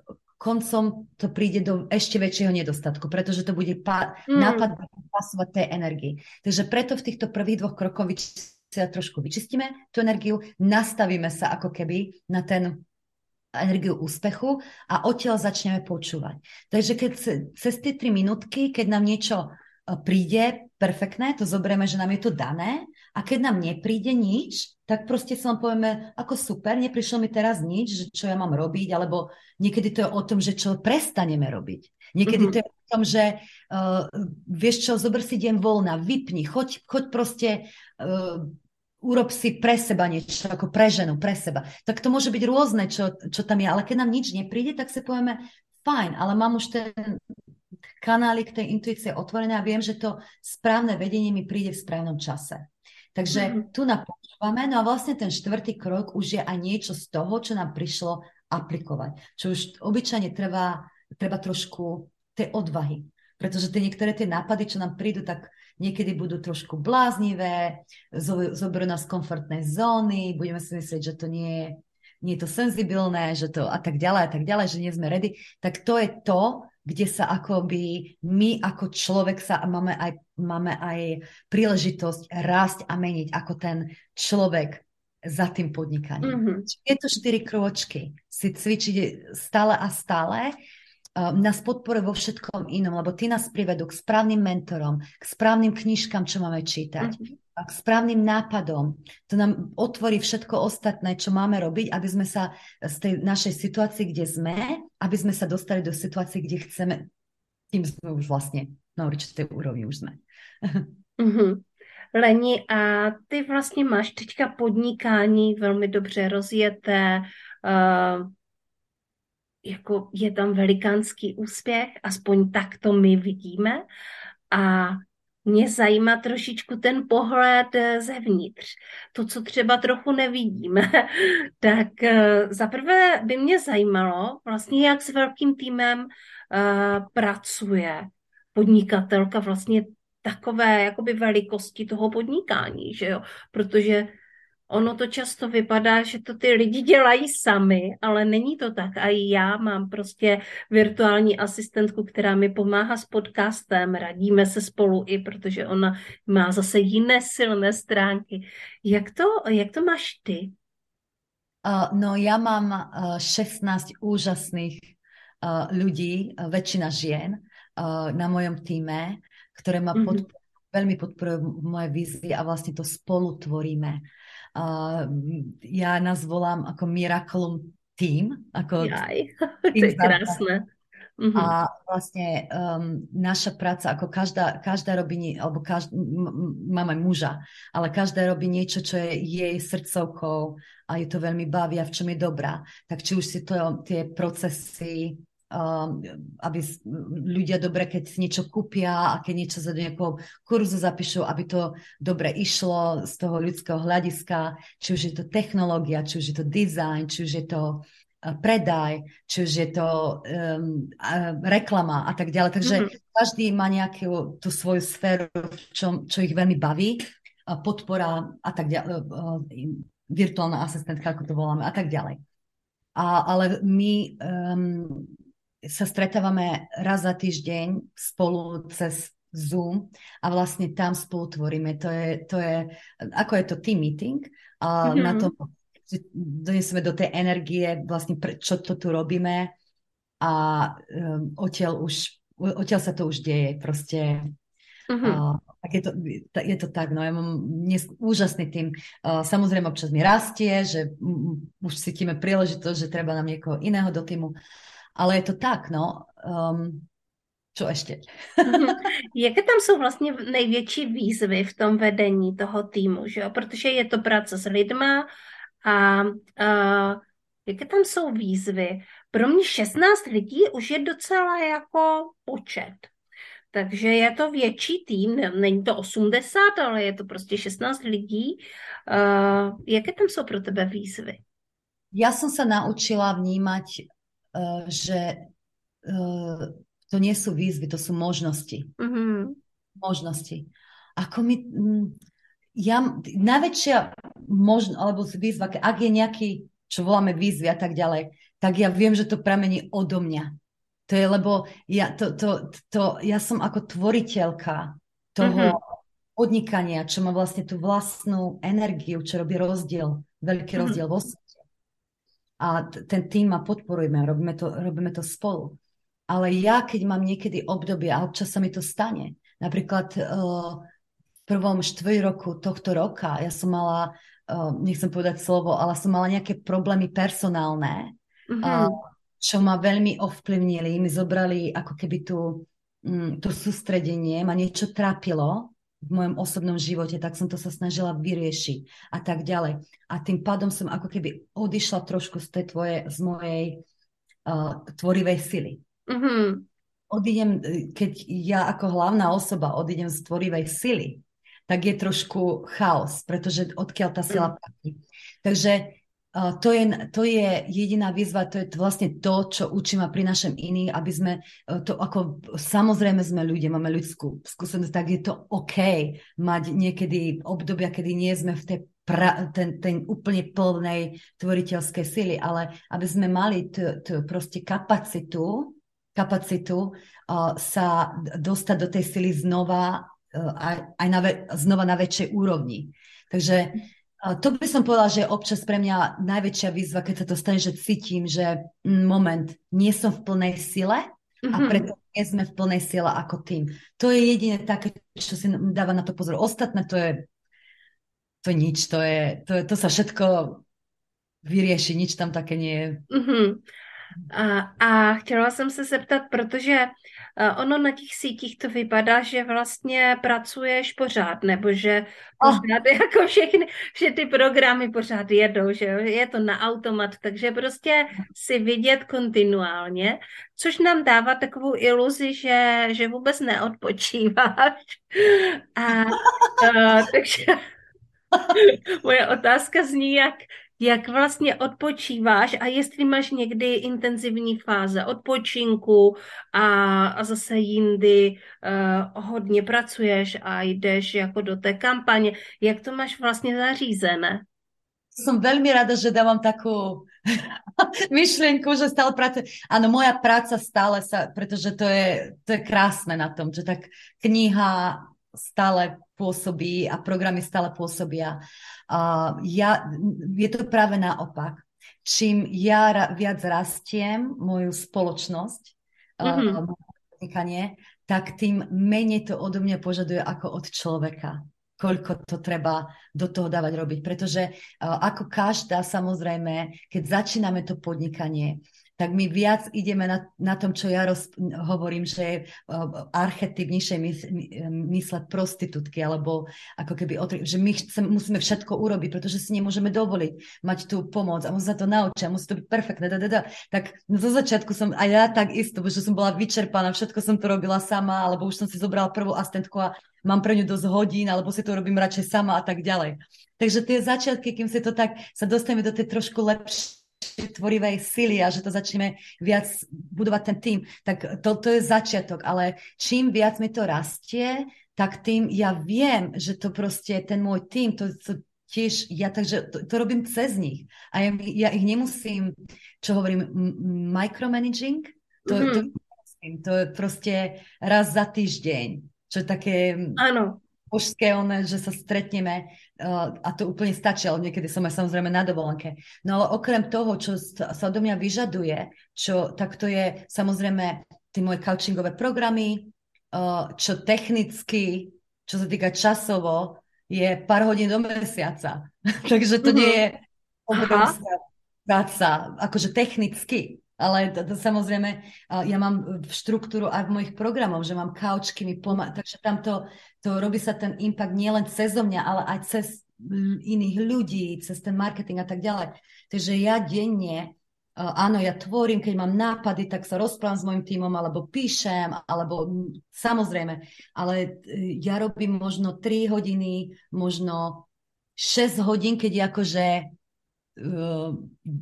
koncom to príde do ešte väčšieho nedostatku, pretože to bude pá- mm. nápad pasovať tej energii. Takže preto v týchto prvých dvoch krokoch vyč- trošku vyčistíme tú energiu, nastavíme sa ako keby na ten energiu úspechu a odtiaľ začneme počúvať. Takže keď cez tie tri minútky, keď nám niečo príde perfektné, to zoberieme, že nám je to dané, a keď nám nepríde nič, tak proste si len povieme, ako super, neprišlo mi teraz nič, že čo ja mám robiť, alebo niekedy to je o tom, že čo prestaneme robiť. Niekedy mm-hmm. to je o tom, že uh, vieš čo, zober si deň voľna, vypni, choď, choď proste, uh, urob si pre seba niečo, ako pre ženu, pre seba. Tak to môže byť rôzne, čo, čo tam je, ale keď nám nič nepríde, tak si povieme, fajn, ale mám už ten kanálik tej intuície otvorené a viem, že to správne vedenie mi príde v správnom čase. Takže mm-hmm. tu napočúvame, no a vlastne ten štvrtý krok už je aj niečo z toho, čo nám prišlo aplikovať. Čo už obyčajne trvá, treba trošku tej odvahy. Pretože tie niektoré tie nápady, čo nám prídu, tak niekedy budú trošku bláznivé, zoberú nás z komfortnej zóny, budeme si myslieť, že to nie je, nie je to senzibilné, že to a tak ďalej, a tak ďalej, že nie sme ready. Tak to je to, kde sa akoby my ako človek sa máme aj, máme aj príležitosť rásť a meniť ako ten človek za tým podnikaním. Mm-hmm. Tieto štyri krôčky si cvičiť stále a stále uh, nás podporuje vo všetkom inom, lebo ty nás privedú k správnym mentorom, k správnym knižkám, čo máme čítať, mm-hmm. a k správnym nápadom. To nám otvorí všetko ostatné, čo máme robiť, aby sme sa z tej našej situácii, kde sme, aby sme sa dostali do situácie, kde chceme, tým sme už vlastne na určitej úrovni už sme. Mm-hmm. Leni, a ty vlastně máš teďka podnikání velmi dobře rozjeté, uh, jako je tam velikánský úspěch, aspoň tak to my vidíme, a mě zajímá trošičku ten pohled zevnitř, to, co třeba trochu nevidíme. Tak uh, zaprvé by mě zajímalo vlastně, jak s velkým týmem uh, pracuje podnikatelka vlastně takové jakoby velikosti toho podnikání, že jo, protože ono to často vypadá, že to ty lidi dělají sami, ale není to tak. A i já mám prostě virtuální asistentku, která mi pomáhá s podcastem, radíme se spolu i, protože ona má zase jiné silné stránky. Jak to, jak to máš ty? Uh, no ja mám uh, šestnásť úžasných uh, ľudí, uh, väčšina žien uh, na mojom týme, ktoré ma mm-hmm. podporujú, veľmi podporujú moje vízie a vlastne to spolu tvoríme. Uh, ja nás volám ako Miraculum Team. Ako Jaj, to je krásne. Mm-hmm. A vlastne um, naša práca, ako každá, každá robí, alebo každá, mám aj muža, ale každá robí niečo, čo je jej srdcovkou a ju to veľmi baví a v čom je dobrá. Tak či už si to tie procesy, um, aby ľudia dobre, keď si niečo kúpia a keď niečo za nejakou kurzu zapíšu, aby to dobre išlo z toho ľudského hľadiska, či už je to technológia, či už je to design, či už je to predaj, či už je to um, reklama a tak ďalej. Takže mm-hmm. každý má nejakú tú svoju sféru, čo, čo ich veľmi baví, podpora a tak ďalej, virtuálna asistentka, ako to voláme, a tak ďalej. A, ale my um, sa stretávame raz za týždeň spolu cez Zoom a vlastne tam spolu tvoríme. To je, to je ako je to team meeting a mm-hmm. na to doniesieme do tej energie, vlastne pre, čo to tu robíme a um, odtiaľ už, odtiaľ sa to už deje, proste. Mm-hmm. Uh, tak je to, je to tak, no ja mám dnes úžasný tým. Uh, samozrejme občas mi rastie, že um, už cítime príležitosť, že treba nám niekoho iného do týmu, ale je to tak, no. Um, čo ešte? Mm-hmm. Jaké tam jsou vlastně největší výzvy v tom vedení toho týmu, že jo? Protože je to práce s lidma. A uh, jaké tam jsou výzvy? Pro mě šestnáct lidí už je docela jako počet. Takže je to větší tým, není to osmdesát, ale je to prostě šestnáct lidí. Uh, jaké tam jsou pro tebe výzvy? Ja som sa naučila vnímať, uh, že uh, to nie sú výzvy, to sú možnosti. Mm-hmm. Možnosti. Ako mi... Mm, Ja, najväčšia možnosť, alebo výzva, ak je nejaký, čo voláme výzvy a tak ďalej, tak ja viem, že to pramení odo mňa. To je, lebo ja, to, to, to, ja som ako tvoriteľka toho mm-hmm. podnikania, čo má vlastne tú vlastnú energiu, čo robí rozdiel, veľký mm-hmm. rozdiel vo svete. A t- ten tým ma podporujeme, robíme to, robíme to spolu. Ale ja, keď mám niekedy obdobie, a občas sa mi to stane, napríklad... Uh, prvom štvrť roku tohto roka ja som mala, uh, nechcem povedať slovo, ale som mala nejaké problémy personálne, mm-hmm. uh, čo ma veľmi ovplyvnili. Mi zobrali ako keby tu, um, to sústredenie, ma niečo trápilo v mojom osobnom živote, tak som to sa snažila vyriešiť a tak ďalej. A tým pádom som ako keby odišla trošku z tej tvoje, z mojej uh, tvorivej sily. Mm-hmm. Odídem, keď ja ako hlavná osoba odídem z tvorivej sily, tak je trošku chaos, pretože odkiaľ tá sila platí. Takže uh, to, je, to je jediná výzva, to je vlastne to, čo učím a prinášam iných, aby sme uh, to ako, samozrejme sme ľudia, máme ľudskú skúsenosť, tak je to OK mať niekedy obdobia, kedy nie sme v tej pra, ten, ten úplne plnej tvoriteľskej sily, ale aby sme mali t, t, proste kapacitu kapacitu uh, sa dostať do tej sily znova, uh, aj, aj na ve- znova na väčšej úrovni. Takže uh, to by som povedala, že je občas pre mňa najväčšia výzva, keď sa to stane, že cítim, že mm, moment, nie som v plnej sile a preto nie sme v plnej sile ako tým. To je jediné také, čo si dáva na to pozor. Ostatné to je to je nič, to, je, to, je, to sa všetko vyrieši, nič tam také nie je. Mm-hmm. A, a chtěla jsem se zeptat, protože uh, ono na těch sítích to vypadá, že vlastně pracuješ pořád, nebo že pořád oh. jako všechny, že ty programy pořád jedou, že je to na automat, takže prostě si vidět kontinuálně, což nám dává takovou iluzi, že, že vůbec neodpočíváš. A uh, takže moje otázka zní, jak jak vlastně odpočíváš a jestli máš někdy intenzivní fáze odpočinku a, a zase jindy uh, hodně pracuješ a jdeš jako do té kampaně. Jak to máš vlastně zařízené? Som veľmi rada, že dávam takú myšlienku, že stále pracujem. Áno, moja práca stále sa, pretože to je, to je krásne na tom, že tak kniha stále pôsobí a programy stále pôsobia. Uh, ja, je to práve naopak. Čím ja ra, viac rastiem moju spoločnosť, mm-hmm. uh, tak tým menej to odo mňa požaduje ako od človeka. Koľko to treba do toho dávať robiť. Pretože uh, ako každá, samozrejme, keď začíname to podnikanie, tak my viac ideme na, na tom, čo ja roz, hovorím, že je uh, archetyp nižšej mys, mysle prostitútky, alebo ako keby, otri, že my chcem, musíme všetko urobiť, pretože si nemôžeme dovoliť mať tú pomoc a musí sa to naučiť a musí to byť perfektné. Da, da, da. Tak zo začiatku som, a ja tak isto, že som bola vyčerpaná, všetko som to robila sama, alebo už som si zobrala prvú asistentku a mám pre ňu dosť hodín, alebo si to robím radšej sama a tak ďalej. Takže tie začiatky, kým si to tak sa dostaneme do tej trošku lepšie tvorivej sily a že to začneme viac budovať ten tým, tak to, to je začiatok, ale čím viac mi to rastie, tak tým ja viem, že to proste ten môj tým, to, to tiež ja, takže to, to robím cez nich a ja, ja ich nemusím, čo hovorím, micromanaging, to, mm-hmm. to, to je proste raz za týždeň, čo je také... Áno. Božské, one, že sa stretneme uh, a to úplne stačí, ale niekedy som aj samozrejme na dovolenke. No ale okrem toho, čo sa odo mňa vyžaduje, čo, tak to je samozrejme tie moje coachingové programy, uh, čo technicky, čo sa týka časovo, je pár hodín do mesiaca. Takže to mm-hmm. nie je obrovská práca, akože technicky. Ale to, to samozrejme, ja mám štruktúru aj v mojich programoch, že mám kaučky, mi pomáha, takže tam to, to robí sa ten impact nielen cez mňa, ale aj cez iných ľudí, cez ten marketing a tak ďalej. Takže ja denne, áno, ja tvorím, keď mám nápady, tak sa rozprávam s mojim tímom, alebo píšem, alebo samozrejme, ale ja robím možno tri hodiny, možno šesť hodín, keď akože uh,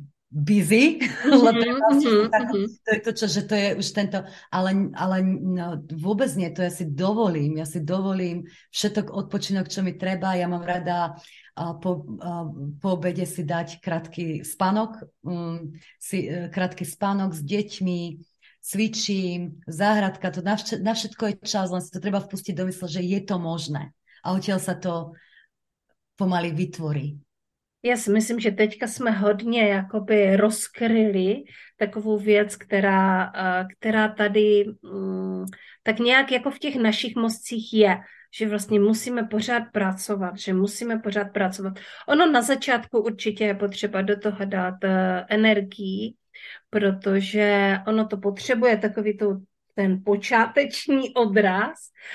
busy, mm-hmm, mm-hmm. to je to, čo, že to je už tento, ale, ale no, vôbec nie, to ja si dovolím, ja si dovolím všetok odpočinok, čo mi treba, ja mám rada uh, po, uh, po obede si dať krátky spánok, um, si, uh, krátky spánok s deťmi, cvičím, záhradka, to na, vš- na všetko je čas, len si to treba vpustiť do mysle, že je to možné a odtiaľ sa to pomaly vytvorí. Já si myslím, že teďka jsme hodně jakoby rozkryli takovou věc, která, která tady tak nějak jako v těch našich mozcích je, že vlastně musíme pořád pracovat, že musíme pořád pracovat. Ono na začátku určitě je potřeba do toho dát energii, protože ono to potřebuje takový to, ten počáteční odraz,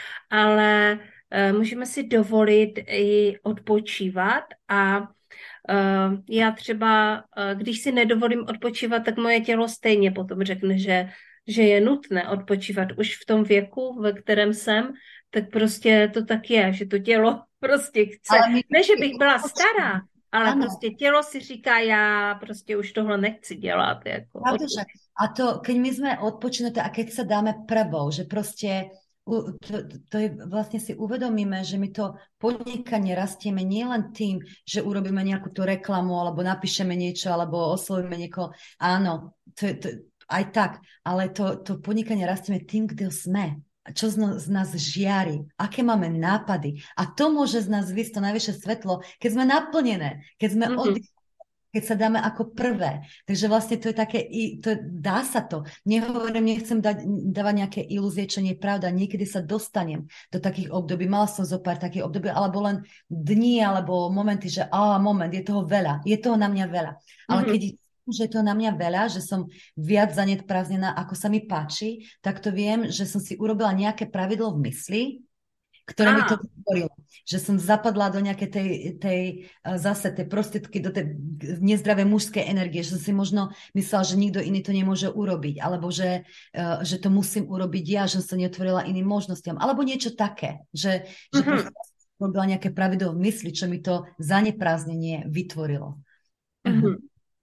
ale můžeme si dovolit i odpočívat a Uh, já třeba, uh, když si nedovolím odpočívat, tak moje tělo stejně potom řekne, že, že je nutné odpočívat. Už v tom věku, ve kterém jsem, tak prostě to tak je, že to tělo prostě chce. My... Ne, že bych byla stará, ale ano. Prostě tělo si říká, já prostě už tohle nechci dělat. Jako a to, keď my jsme odpočinuté a keď sa dáme prvou, že prostě To, to je, vlastne si uvedomíme, že my to podnikanie rastieme nielen tým, že urobíme nejakú tú reklamu, alebo napíšeme niečo, alebo oslovíme niekoho. Áno, to, to, aj tak, ale to, to podnikanie rastieme tým, kde sme. Čo z, no, z nás žiari, aké máme nápady. A to môže z nás vysť to najvyššie svetlo, keď sme naplnené, keď sme Mm-hmm. oddychli, keď sa dáme ako prvé. Takže vlastne to je také, to, dá sa to. Nehovorím, nechcem dať, dávať nejaké ilúzie, čo nie je pravda. Niekedy sa dostanem do takých období. Mala som zo pár takých období, alebo len dní, alebo momenty, že á, moment, je toho veľa. Je toho na mňa veľa. Ale Mm-hmm. keď že je to na mňa veľa, že som viac zanedprázdnená, ako sa mi páči, tak to viem, že som si urobila nejaké pravidlo v mysli, ktoré ah. mi to vytvorilo. Že som zapadla do nejakej tej, tej zase tej prostriedky, do tej nezdravej mužskej energie, že som si možno myslela, že nikto iný to nemôže urobiť, alebo že, že to musím urobiť ja, že som sa neotvorila iným možnostiam, alebo niečo také, že, že mm-hmm. proste robila nejaké pravidlo v mysli, čo mi to zaneprázdnenie vytvorilo. Mm-hmm.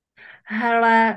Hele,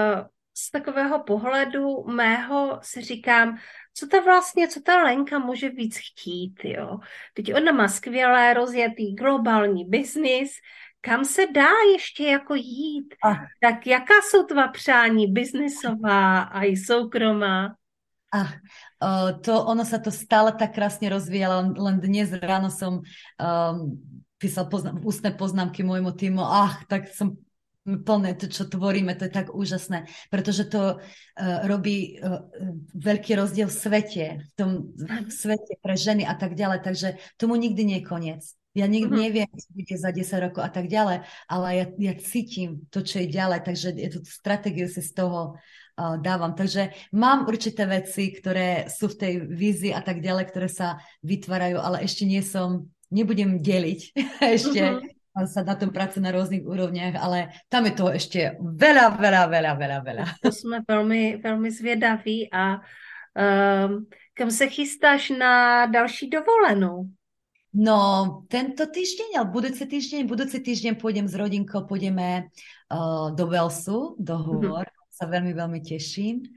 z takového pohledu mého si říkám, co to vlastně, co ta Lenka může víc chtít, jo. Teď ona má skvělé rozjetý globální biznis, kam se dá ještě jako jít? Ah. Tak jaká jsou tvá přání biznisová a i soukromá? Ah, uh, to ono sa to stále tak krásne rozvíjalo, len, len dnes ráno som um, písal poznám, ústne poznámky môjmu týmu, ach, tak som plné to, čo tvoríme, to je tak úžasné, pretože to uh, robí uh, veľký rozdiel v svete, v tom v svete pre ženy a tak ďalej, takže tomu nikdy nie je koniec. Ja nikdy mm-hmm. neviem, čo bude za desať rokov a tak ďalej, ale ja, ja cítim to, čo je ďalej, takže je tú stratégiu si z toho uh, dávam. Takže mám určité veci, ktoré sú v tej vízii a tak ďalej, ktoré sa vytvárajú, ale ešte nie som, nebudem deliť ešte, mm-hmm. sa na tom pracuje na rôznych úrovniach, ale tam je toho ešte veľa, veľa, veľa, veľa, veľa. To jsme velmi, velmi zvědaví a um, kam se chystáš na další dovolenou? No, tento týždeň, ale budúci týždeň, budúci týždeň pôjdem s rodinkou, pôjdeme uh, do Velsu, do hôr. Mm-hmm. Sa veľmi, veľmi teším.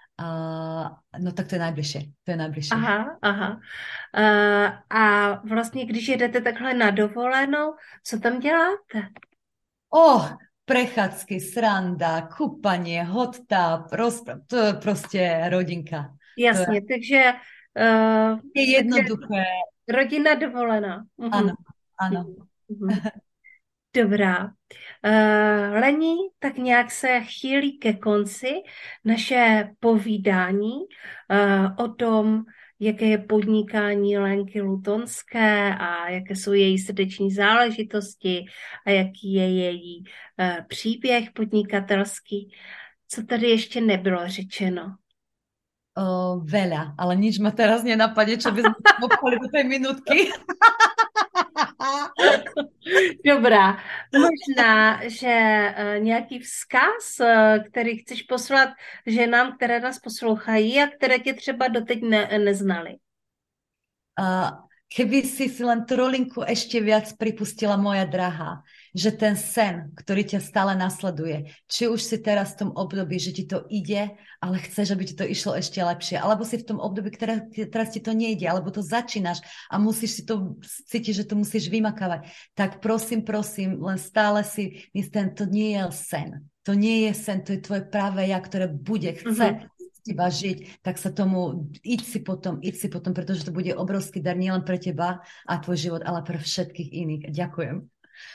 Uh, no tak to je najbližšie. To je najbližšie. Aha, aha. Uh, a vlastně, když jedete takhle na dovolenou, co tam děláte? Oh, prechádzky, sranda, kúpanie, hot tub, rozpráv, to je proste rodinka. Jasně, to je, takže... Uh, je jednoduché. Rodina dovolená. Uh-huh. Ano, ano. Uh-huh. Dobrá. Uh, Lení, tak nějak se chýlí ke konci naše povídání uh, o tom, jaké je podnikání Lenky Lutonské a jaké jsou její srdeční záležitosti a jaký je její uh, příběh podnikatelský. Co tady ještě nebylo řečeno? Uh, veľa, ale nič ma teraz nenapadne, čo by sme popali do tej minútky. Dobrá. Možná, že uh, nějaký vzkaz, uh, který chceš poslat ženám, které nás poslouchají a které tě třeba doteď ne- neznali. Uh, keby si si len trolinku ešte viac pripustila, moja drahá, že ten sen, ktorý ťa stále nasleduje, či už si teraz v tom období, že ti to ide, ale chceš, aby ti to išlo ešte lepšie, alebo si v tom období, ktoré teraz ti to nejde, alebo to začínaš a musíš si to cítiť, že to musíš vymakávať, tak prosím, prosím, len stále si myslím, to nie je sen. To nie je sen, to je tvoje práve ja, ktoré bude, chce mm-hmm. teba žiť, tak sa tomu, íď si potom, íď si potom, pretože to bude obrovský dar nielen pre teba a tvoj život, ale pre všetkých iných. Ďakujem.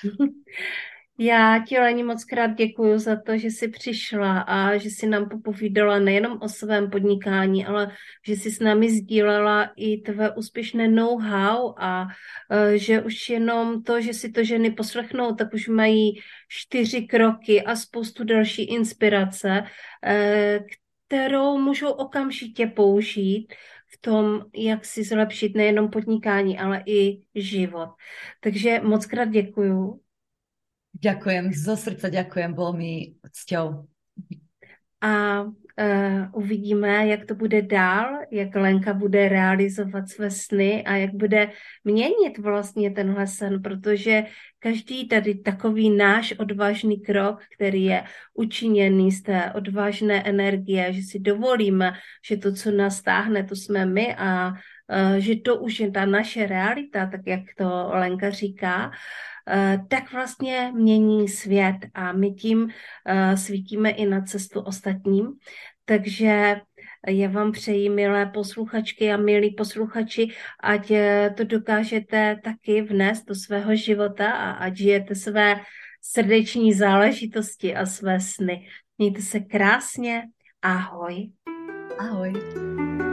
Já ti, Leni, moc krát děkuju za to, že jsi přišla a že jsi nám popovídala nejenom o svém podnikání, ale že jsi s námi sdílela i tvé úspěšné know-how a uh, že už jenom to, že si to ženy poslechnou, tak už mají čtyři kroky a spoustu další inspirace, uh, kterou můžou okamžitě použít v tom, jak si zlepšit nejenom podnikání, ale i život. Takže moc krát děkuju. Ďakujem, zo srdca ďakujem, bolo mi cťou. A uh, uvidíme, jak to bude dál, jak Lenka bude realizovat své sny a jak bude měnit vlastně tenhle sen, protože každý tady takový náš odvážný krok, který je učiněný z té odvážné energie, že si dovolíme, že to, co nás táhne, to jsme my a uh, že to už je ta naše realita, tak jak to Lenka říká, Uh, tak vlastně mění svět a my tím uh, svítíme i na cestu ostatním. Takže já vám přeji, milé posluchačky a milí posluchači, ať eh, to dokážete taky vnést do svého života a ať žijete své srdeční záležitosti a své sny. Mějte se krásně. Ahoj. Ahoj.